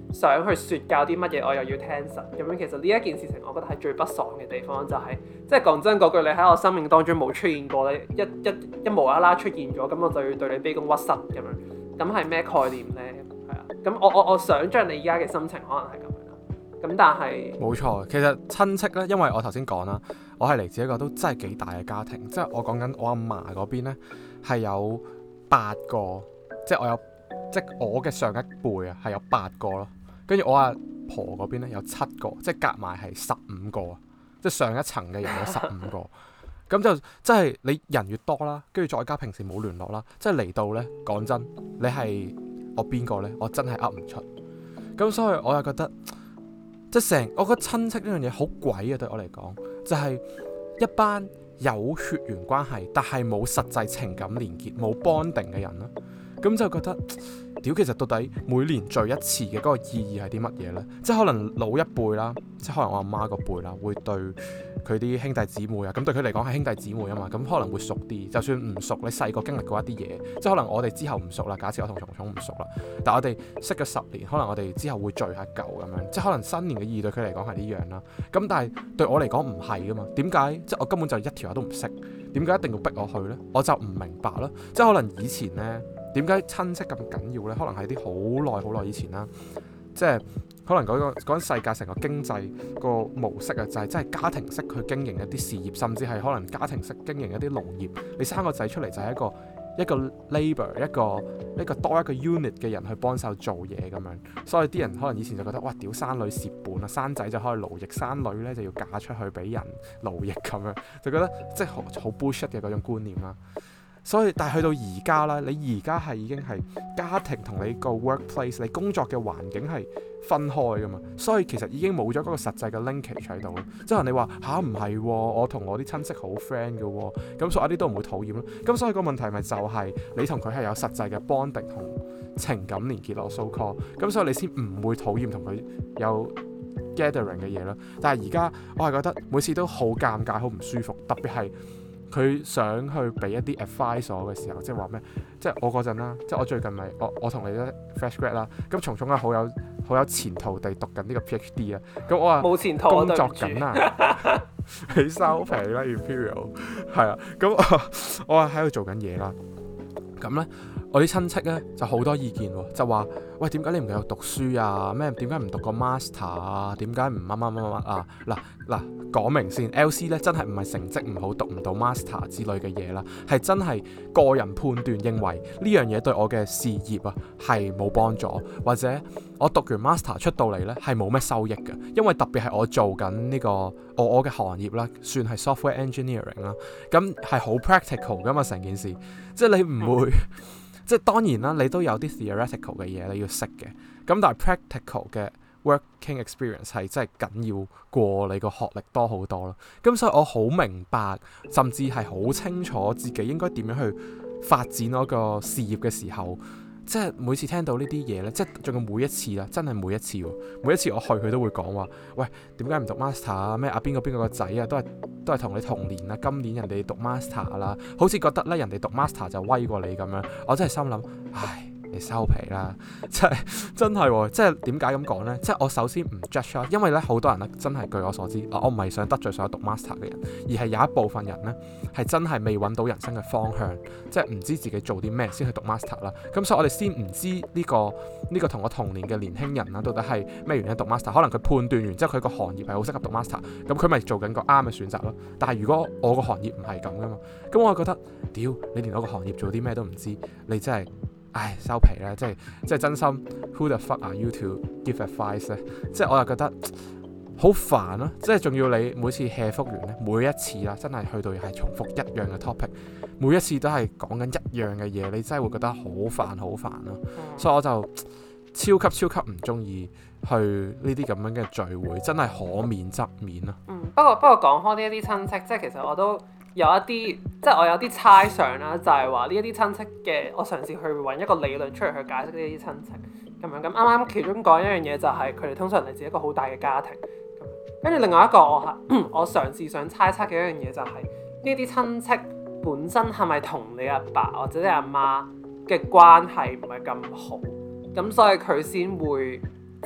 想去説教啲乜嘢，我又要聽實咁樣。其實呢一件事情，我覺得係最不爽嘅地方，就係、是、即係講真嗰句，你喺我生命當中冇出現過咧，一一一無啦啦出現咗，咁我就要對你卑躬屈膝咁樣，咁係咩概念咧？係啊，咁我我我想像你而家嘅心情可能係咁樣啦。咁但係冇錯，其實親戚咧，因為我頭先講啦，我係嚟自一個都真係幾大嘅家庭，即係我講緊我阿嫲嗰邊咧係有八個，即係我有即係我嘅上一輩啊係有八個咯。跟住我阿婆嗰邊咧有七個，即係夾埋係十五個啊！即係上一層嘅人有十五個，咁就即係你人越多啦，跟住再加平時冇聯絡啦，即係嚟到咧，講真，你係我邊個咧？我真係噏唔出。咁所以我又覺得，即係成我覺得親戚呢樣嘢好鬼啊！對我嚟講，就係、是、一班有血緣關係，但係冇實際情感連結、冇 bonding 嘅人啦。咁就覺得，屌，其實到底每年聚一次嘅嗰個意義係啲乜嘢呢？即係可能老一輩啦，即係可能我阿媽個輩啦，會對佢啲兄弟姊妹啊，咁對佢嚟講係兄弟姊妹啊嘛，咁可能會熟啲。就算唔熟，你細個經歷過一啲嘢，即係可能我哋之後唔熟啦。假設我同蟲蟲唔熟啦，但係我哋識咗十年，可能我哋之後會聚下舊咁樣，即係可能新年嘅意義對佢嚟講係呢樣啦。咁但係對我嚟講唔係噶嘛？點解？即係我根本就一條友都唔識，點解一定要逼我去呢？我就唔明白啦。即係可能以前呢。點解親戚咁緊要呢？可能係啲好耐好耐以前啦，即係可能嗰、嗰個嗰陣世界成個經濟個模式啊，就係真係家庭式去經營一啲事業，甚至係可能家庭式經營一啲農業。你生個仔出嚟就係一個一個 labour 一個一個多一個 unit 嘅人去幫手做嘢咁樣。所以啲人可能以前就覺得哇，屌生女蝕本啊，生仔就可以勞役，生女呢就要嫁出去俾人勞役咁樣，就覺得即係好好 bullshit 嘅嗰種觀念啦。所以，但係去到而家啦，你而家係已經係家庭同你個 workplace，你工作嘅環境係分開噶嘛，所以其實已經冇咗嗰個實際嘅 linkage 喺度咯。即係你話吓唔係，我同我啲親戚好 friend 嘅喎，咁所以一啲都唔會討厭咯。咁所以個問題咪就係你同佢係有實際嘅 bonding 同情感連結咯，so call。咁所以你先唔會討厭同佢有 gathering 嘅嘢咯。但係而家我係覺得每次都好尷尬，好唔舒服，特別係。佢想去俾一啲 advice 我嘅時候，即係話咩？即係我嗰陣啦，即係我最近咪我我同你都 fresh grad 啦。咁蟲蟲係好有好有前途地讀緊呢個 PhD 啊。咁我話冇前途工作緊啊，你收皮啦 Imperial 係啊。咁我我係喺度做緊嘢啦。咁咧，我啲親戚咧就好多意見喎，就話喂，點解你唔繼續讀書啊？咩點解唔讀個 master 啊？點解唔乜乜乜乜啊？嗱嗱講明先 ，L C 咧真係唔係成績唔好讀唔到 master 之類嘅嘢啦，係真係個人判斷認為呢樣嘢對我嘅事業啊係冇幫助，或者我讀完 master 出到嚟咧係冇咩收益嘅，因為特別係我做緊呢、呢個我我嘅行業啦，算係 software engineering 啦，咁係好 practical 噶嘛成件事，即係你唔會。即係當然啦，你都有啲 theoretical 嘅嘢你要識嘅，咁但係 practical 嘅 working experience 係真係緊要過你個學歷多好多咯。咁所以我好明白，甚至係好清楚自己應該點樣去發展嗰個事業嘅時候，即係每次聽到呢啲嘢咧，即係仲有每一次啦，真係每一次喎，每一次我去佢都會講話，喂，點解唔讀 master 啊？咩啊邊個邊個個仔啊，都係都係同你同年啊，今年人哋讀 master 啦，好似覺得咧人哋讀 master 就威過你咁樣，我真係心諗，唉。你收皮啦，即係真係喎，即係點解咁講呢？即係我首先唔 judge 啦，因為咧好多人咧真係據我所知，我唔係想得罪所有讀 master 嘅人，而係有一部分人呢係真係未揾到人生嘅方向，即係唔知自己做啲咩先去讀 master 啦。咁所以我哋先唔知呢個呢個同我同年嘅年輕人啦，到底係咩原因讀 master？ 可能佢判斷完之後佢個行業係好適合讀 master， 咁佢咪做緊個啱嘅選擇咯。但係如果我個行業唔係咁噶嘛，咁我覺得屌你連我個行業做啲咩都唔知，你真係〜唉，收皮啦！即係即係真心 ，Who the fuck are you to give advice 咧？即係我又覺得好煩咯！即係仲要你每次 hea 覆完咧，每一次啦，真係去到係重複一樣嘅 topic，每一次都係講緊一樣嘅嘢，你真係會覺得好煩好煩咯！嗯、所以我就超級超級唔中意去呢啲咁樣嘅聚會，真係可免則免咯。 嗯，不過不過講開呢一啲親戚，即係其實我都。有一啲即係我有啲猜想啦，就係話呢一啲親戚嘅，我嘗試去揾一個理論出嚟去解釋呢啲親戚咁樣。咁啱啱其中講一樣嘢就係佢哋通常嚟自一個好大嘅家庭。跟住另外一個我係我嘗試想猜測嘅一樣嘢就係呢啲親戚本身係咪同你阿爸或者你阿媽嘅關係唔係咁好，咁所以佢先會即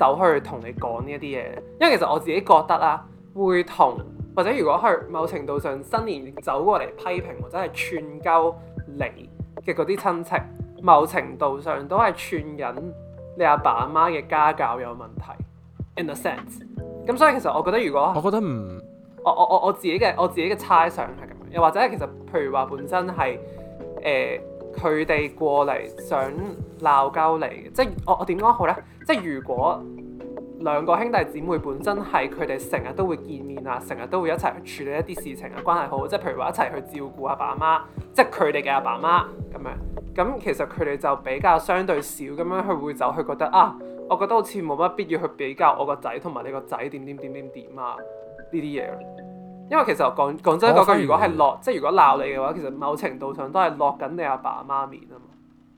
走去同你講呢一啲嘢，因為其實我自己覺得啦，會同或者如果去某程度上新年走過嚟批評或者係串鳩你嘅嗰啲親戚，某程度上都係串緊你阿爸阿媽嘅家教有問題 in a sense。咁所以其實我覺得如果我覺得唔， 我我我我自己嘅我自己嘅猜想係咁樣，又或者係其實譬如話本身係誒佢哋過嚟想鬧交嚟嘅，即係我我點講好咧？即係如果兩個兄弟姊妹本身係佢哋成日都會見面啊，成日都會一齊去處理一啲事情啊，關係好，即係譬如話一齊去照顧阿爸阿媽，即係佢哋嘅阿爸阿媽咁樣。咁其實佢哋就比較相對少咁樣去會走去覺得啊，我覺得好似冇乜必要去比較我個仔同埋你個仔點點點點點啊呢啲嘢。因為其實講講真嗰句，如果係落即係如果鬧你嘅話，其實某程度上都係落緊你阿爸阿媽面啊嘛。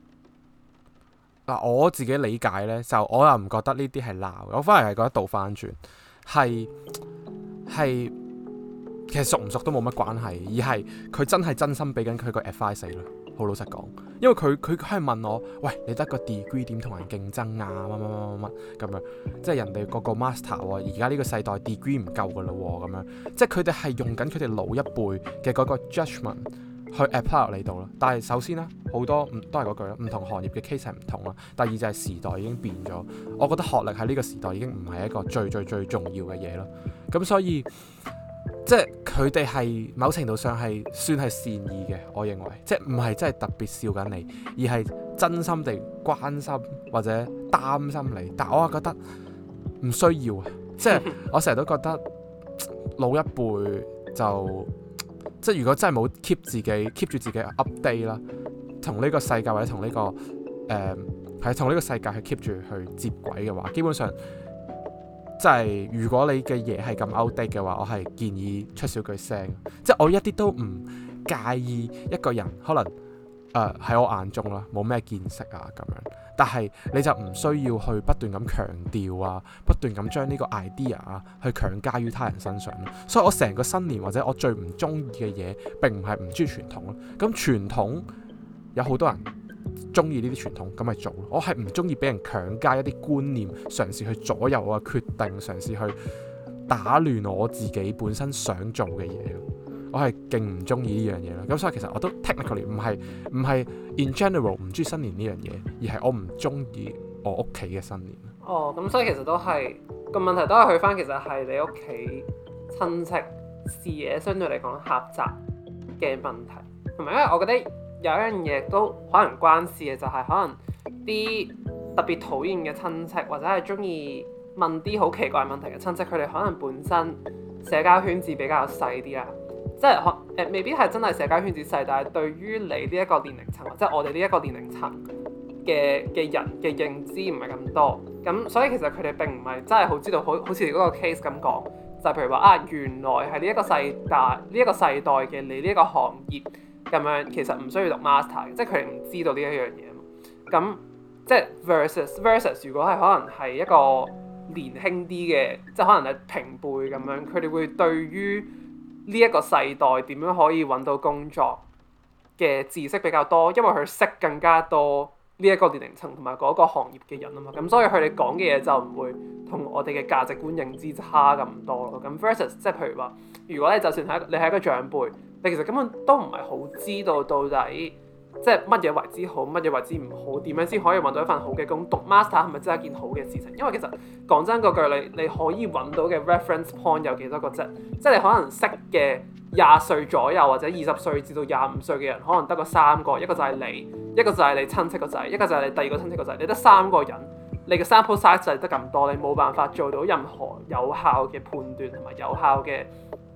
嗱，我自己理解咧，就我又唔覺得呢啲係鬧，我反而係覺得倒翻轉，係係其實熟唔熟都冇乜關係，而係佢真係真心俾緊佢個 advice 咯。好老實講，因為佢佢係問我，喂，你得個 degree 點同人競爭啊？乜乜乜乜乜咁樣，即係人哋個個 master 喎，而家呢個世代 degree 唔夠噶啦喎，咁樣，即係佢哋係用緊佢哋老一輩嘅嗰個 judgment 去 apply 落嚟度咯。但係首先啦，好多唔都係嗰句啦，唔同行業嘅 case 係唔同啦。第二就係時代已經變咗，我覺得學歷喺呢個時代已經唔係一個最最最重要嘅嘢咯。咁所以即係佢哋係某程度上係算係善意嘅，我認為，即係唔係真係特別笑緊你，而係真心地關心或者擔心你。但係我係覺得唔需要啊，即係我成日都覺得老一輩就即係如果真係冇 keep 自己 keep 住自己 update 啦，同呢個世界或者同呢個誒係同呢個世界去 keep 住去接軌嘅話，基本上。即係如果你嘅嘢係咁 outdate 嘅話，我係建議出少句聲。即係我一啲都唔介意一個人可能誒喺、呃、我眼中啦，冇咩見識啊咁樣。但係你就唔需要去不斷咁強調啊，不斷咁將呢個 idea 啊去強加於他人身上咯。所以我成個新年或者我最唔中意嘅嘢並唔係唔中意傳統咯。咁傳統有好多人中意呢啲傳統，咁咪做咯。我係唔中意俾人強加一啲觀念，嘗試去左右我嘅決定，嘗試去打亂我自己本身想做嘅嘢。我係勁唔中意呢樣嘢咯。咁所以其實我都 technically 唔係唔係 in general 唔中意新年呢樣嘢，而係我唔中意我屋企嘅新年。 哦，咁所以其實都係個問題都係去翻，其實係你屋企親戚視野相對嚟講狹窄嘅問題，同埋因為我覺得。有一樣嘢都可能關事嘅，就係、是、可能啲特別討厭嘅親戚，或者係中意問啲好奇怪問題嘅親戚，佢哋可能本身社交圈子比較細啲啦，即係可誒未必係真係社交圈子細，但係對於你呢一個年齡層，或者我哋呢一個年齡層嘅嘅人嘅認知唔係咁多，咁所以其實佢哋並唔係真係好知道，好好似嗰個 case 咁講，就係、是、譬如話啊，原來係呢一個世代呢一、這個世代嘅你呢一個行業。咁樣其實唔需要讀 master 嘅，即係佢哋唔知道呢一樣嘢嘛。咁即係 versus versus，如果係可能係一個年輕啲嘅，即係可能係平輩咁樣，佢哋會對於呢一個世代點樣可以揾到工作嘅知識比較多，因為佢識更加多呢一個年齡層同埋嗰個行業嘅人啊嘛。咁所以佢哋講嘅嘢就唔會同我哋嘅價值觀認知差咁多咯。咁 versus 即係譬如話，如果你就算係你係一個長輩。你其實根本都唔係好知道到底即係乜嘢為之好，乜嘢為之唔好，點樣先可以揾到一份好嘅工？讀 master 係咪真係一件好嘅事情？因為其實講真嗰句，你你可以揾到嘅 reference point 有幾多個啫？即係你可能識嘅廿歲左右或者二十歲至到廿五歲嘅人，可能得個三個，一個就係你，一個就係你親戚個仔，一個就係你第二個親戚個仔，你得三個人，你嘅 sample size 就係得咁多，你冇辦法做到任何有效嘅判斷同埋有效嘅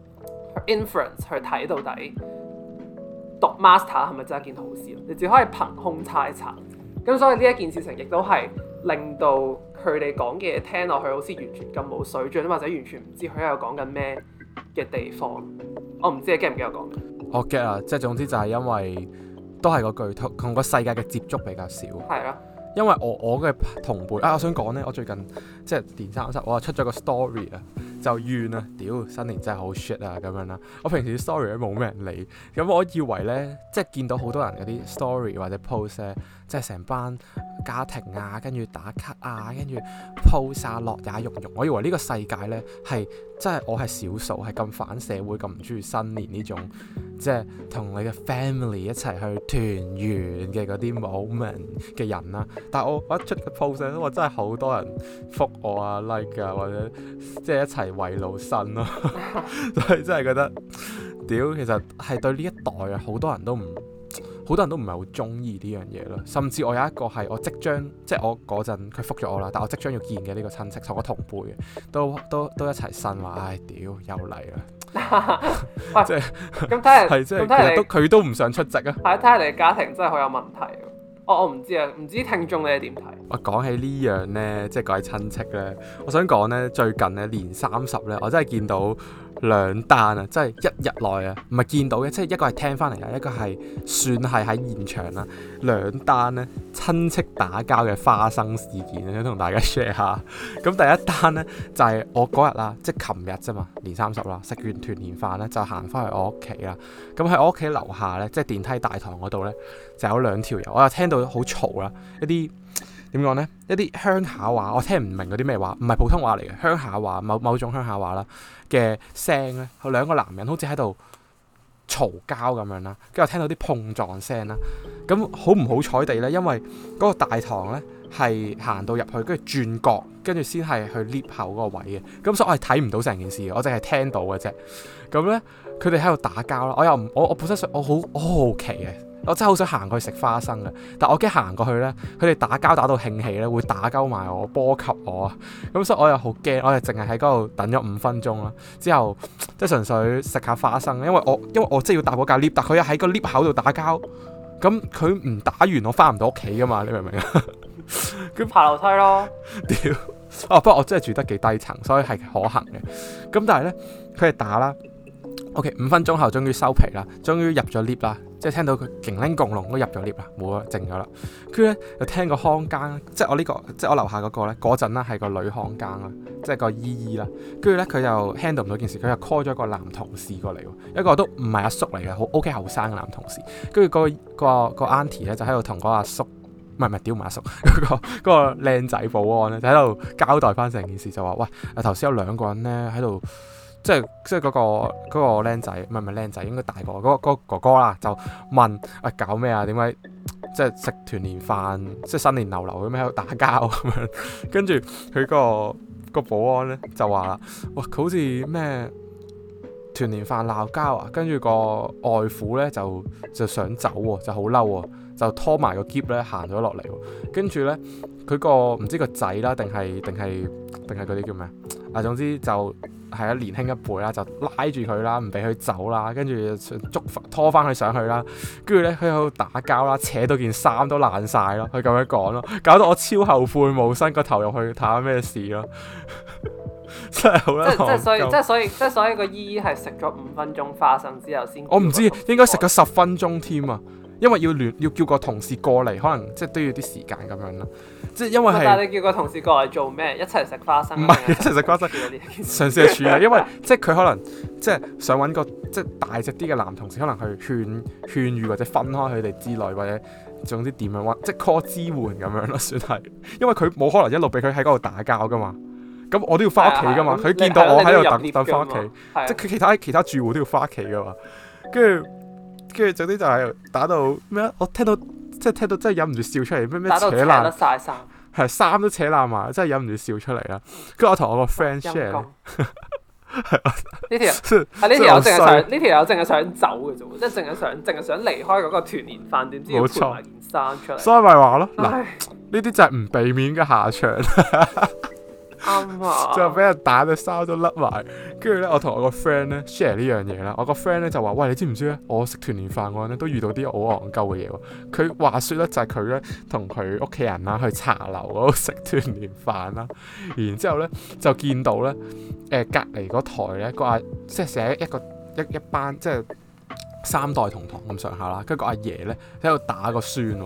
inference 去睇到底讀 master 係咪真係一件好事？你只可以憑空猜測。咁所以呢一件事情亦都係令到佢哋講嘅嘢聽落去好似完全咁冇水準，或者完全唔知佢喺度講緊咩嘅地方。我唔知你 get 唔 get 我講嘅？ 我 get 啊，即係總之就係因為都係嗰句同同個世界嘅接觸比較少。 係啊。 因為我我嘅同輩啊，我想講咧，我最近即係年三十，我出咗個 story 啊，就就怨啊，屌新年真係好 shit 啊咁樣啦。我平時啲 story 都冇咩人理，咁我以為咧，即係見到好多人嗰啲 story 或者 post 咧，即係成班家庭啊，跟住打卡啊，跟住 post 啊，樂也融融。我以為呢個世界咧係真係我係少數係咁反社會咁唔中意新年呢種，即係同你嘅 family 一齊去團圓嘅嗰啲 moment 嘅人啦。但係我我一出個 post 咧，我真係好多人覆我啊 like 啊，或者即係一齊慰勞新咯，所以真係覺得屌，其實係對呢一代啊，好多人都唔好多人都唔係好中意呢樣嘢咯。甚至我有一個係我即將即係我嗰陣佢覆咗我啦，但我即將要見嘅呢個親戚同我同輩嘅，都都都一齊呻話，唉屌又嚟啦，即係咁睇嚟係即係其實都佢都唔想出席啊。 係睇下你嘅家庭真係好有問題。我我唔知啊，唔知聽眾你係點睇？ 我講起呢樣呢，即係講起親戚呢，我想講呢，最近呢年三十呢，我真係見到兩單啊，即係一日內啊，唔係見到嘅，即係一個係聽翻嚟啊，一個係算係喺現場啦，兩單呢親戚打交嘅花生事件，想同大家 share 下。咁第一單呢，就係、是、我嗰日啦，即係琴日啫嘛，年三十啦，食完團年飯呢，就行翻去我屋企啦。咁喺我屋企樓下呢，即係電梯大堂嗰度呢，就有兩條友，我又聽到好嘈啦，一啲點講呢？一啲鄉下話，我聽唔明嗰啲咩話，唔係普通話嚟嘅，鄉下話，某某種鄉下話啦嘅聲咧，兩個男人好似喺度嘈交咁樣啦，跟住我聽到啲碰撞聲啦，咁好唔好彩地呢？因為嗰個大堂呢係行到入去，跟住轉角，跟住先係去 lift 口嗰個位嘅，咁所以我係睇唔到成件事嘅，我淨係聽到嘅啫。咁呢，佢哋喺度打交啦，我又唔我我本身我好我好好奇嘅。我真係好想行過去食花生嘅，但我驚行過去呢，佢哋打交打到興起呢，會打交埋我，波及我啊！咁所以我又好驚，我就淨係喺嗰度等咗五分鐘啦。之後即係純粹食下花生，因為我因為我真係要搭嗰架 lift，但佢又喺個 lift 口度打交，咁佢唔打完我翻唔到屋企噶嘛？你明唔明啊？ 咁爬樓梯咯。 屌！哦，不過我真係住得幾低層，所以係可行嘅。咁但係呢，佢哋打啦。O.K. 五分鐘後終於收皮啦，終於入咗 lift 啦，即係聽到佢勁拎共龍都入咗 lift 啦，冇啊，靜咗啦。跟住咧又聽個看更，即係我呢、這個，即係我樓下嗰個咧，嗰陣啦係個女看更啦，即係個姨姨啦。跟住咧佢又 handle 唔到件事，佢又 call 咗個男同事過嚟，一個都唔係阿叔嚟嘅，好 O.K. 後生嘅男同事。跟住、那個個個 auntie 咧就喺度同嗰個阿叔，唔係唔係屌唔係阿叔，嗰、那個嗰、那個靚仔保安咧就喺度交代翻成件事，就話喂，頭先有兩個人咧喺度。即係即係嗰個嗰個僆仔，唔係唔係僆仔，應該大個嗰個嗰個哥哥啦，就問喂，搞咩啊？點解即係食團年飯，即係新年流流咁喺度打交咁樣？跟住佢個個保安咧就話啦，哇，佢好似咩團年飯鬧交啊！跟住個外父咧就就想走喎，就好嬲喎，就拖埋個篋咧行咗落嚟喎。跟住咧佢個唔知個仔啦，定係定係定係嗰啲叫咩啊？總之就。係啊，年輕一輩啦，就拉住佢啦，唔俾佢走啦，跟住捉拖翻佢上去啦，跟住咧佢喺度打交啦，扯到件衫都爛晒咯，佢咁樣講咯，搞到我超後悔冇伸個頭入去睇下咩事咯，真係好啦。即係所以，即係所以，即係所以個姨姨係食咗五分鐘花生之後先。 我唔知，應該食咗十分鐘添啊，因為要聯要叫個同事過嚟，可能即係都要啲時間咁樣啦。即係因為係， 但係你叫個同事過嚟做咩？一齊食花生？ 唔係一齊食花生，嘗試去處理。因為即係佢可能即係想揾個即係大隻啲嘅男同事，可能去勸勸喻或者分開佢哋之類，或者總之點樣揾，即係 call 支援咁樣咯，算係。因為佢冇可能一路俾佢喺嗰度打交噶嘛。咁我都要翻屋企噶嘛。佢見到我喺度等等翻屋企，即係佢其他其他住戶都要翻屋企噶嘛。跟住跟住總之就係打到咩啊？我聽到。即係聽到真係忍唔住笑出嚟，咩咩扯爛， 打到扯甩晒衫， 係衫都扯爛埋，真係忍唔住笑出嚟啦。跟住我同我個 friend share，呢條係呢條友淨係想呢條友淨係想走嘅啫，即係淨係想淨係想離開嗰個團年飯，點知要賠埋件衫出嚟， 所以咪話咯，嗱呢啲就係唔避免嘅下場。 啱啊！ 就俾人打到衫都甩埋，跟住咧，我同我個 friend 咧 share 呢樣嘢啦。我個 friend 咧就話：喂，你知唔知咧？我食團年飯嗰陣咧都遇到啲好戇鳩嘅嘢喎。佢話説咧就係佢咧同佢屋企人啦去茶樓嗰度食團年飯啦，然之後咧就見到咧誒、呃、隔離嗰台咧個阿即係寫一個一一班即係三代同堂咁上下啦，跟住個阿爺咧喺度打個孫喎。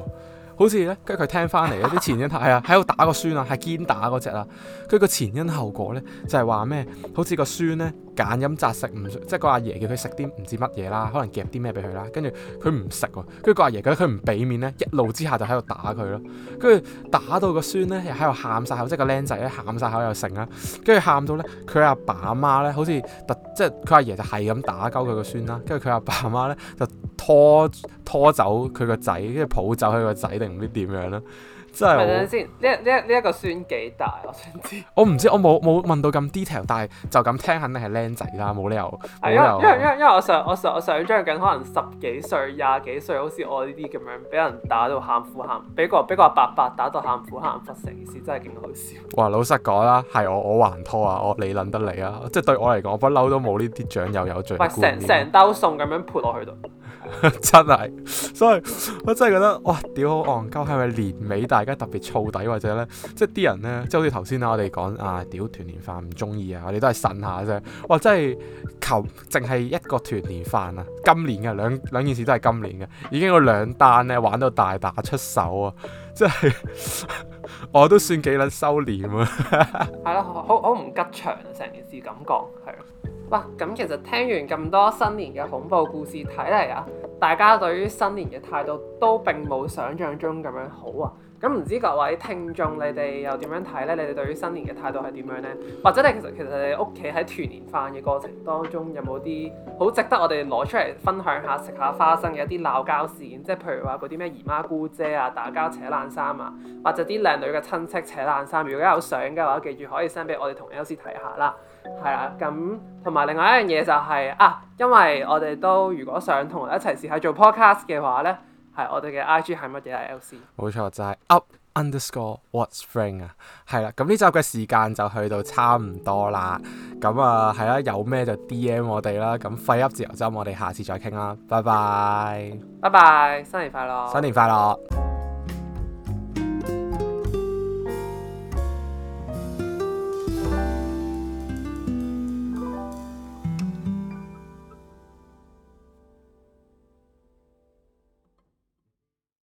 好似咧，跟住佢聽翻嚟啲前因係啊，喺度打個孫啊，係堅打嗰隻啦。跟住個前因後果咧，就係話咩？好似個孫咧揀飲擇食，唔即係個阿爺叫佢食啲唔知乜嘢啦，可能夾啲咩俾佢啦。跟住佢唔食喎，跟住個阿爺覺得佢唔俾面咧，一怒之下就喺度打佢咯。跟住打到個孫咧又喺度喊晒口，即係個僆仔咧喊晒口又成啦。跟住喊到咧，佢阿爸阿媽咧好似特即係佢阿爺就係咁打鳩佢個孫啦。跟住佢阿爸阿媽咧就拖拖走佢個仔，跟住抱走佢個仔定唔知點樣啦。真係。 等陣先，呢呢呢一個孫幾大？我想知。 我唔知，我冇冇問到咁 detail， 但係就咁聽肯定係僆仔啦，冇理由。 係因為因為因為因為我想我想我想像緊可能十幾歲、廿幾歲，好似我呢啲咁樣，俾人打到喊苦喊，俾個俾個阿伯伯打到喊苦喊忽，成件事真係勁好笑。 哇！老實講啦，係我我還拖啊，我你撚得嚟啊！即係對我嚟講，我不嬲都冇呢啲長幼有序嘅觀念。 喂，成成兜餸咁樣潑落去度。 真係，所以我真係覺得哇，屌好戇鳩，係咪年尾大家特別燥底，或者咧，即係啲人咧，即係好似頭先啦，我哋講啊，屌團年飯唔中意啊，我哋都係呻下啫。哇，真係求淨係一個團年飯啊，今年嘅兩兩件事都係今年嘅，已經有兩單咧玩到大打出手啊，即係我都算幾撚收斂啊。 係咯，好好唔吉祥啊，成件事感覺係咯。哇，咁其實聽完咁多新年嘅恐怖故事，睇嚟啊，大家對於新年嘅態度都並冇想像中咁樣好啊！咁唔知各位聽眾你哋又點樣睇呢？你哋對於新年嘅態度係點樣呢？或者你其實其實你屋企喺團年飯嘅過程當中，有冇啲好值得我哋攞出嚟分享下、食下花生嘅一啲鬧交事件？即係譬如話嗰啲咩姨媽姑姐啊、打交扯爛衫啊，或者啲靚女嘅親戚扯爛衫。如果有相嘅話，記住可以 send 俾我哋同 Elsie 睇下啦。係啦，咁同埋另外一樣嘢就係、是、啊，因為我哋都如果想同我哋一齊試下做 podcast 嘅話咧，係我哋嘅 I G 係乜嘢啊 ？L C 冇錯，就係、是、up underscore what's spring 啊，係啦，咁呢集嘅時間就去到差唔多啦，咁啊係啦，有咩就 D M 我哋啦，咁廢噏自由針，我哋下次再傾啦，拜拜， 拜拜，新年快樂， 新年快樂。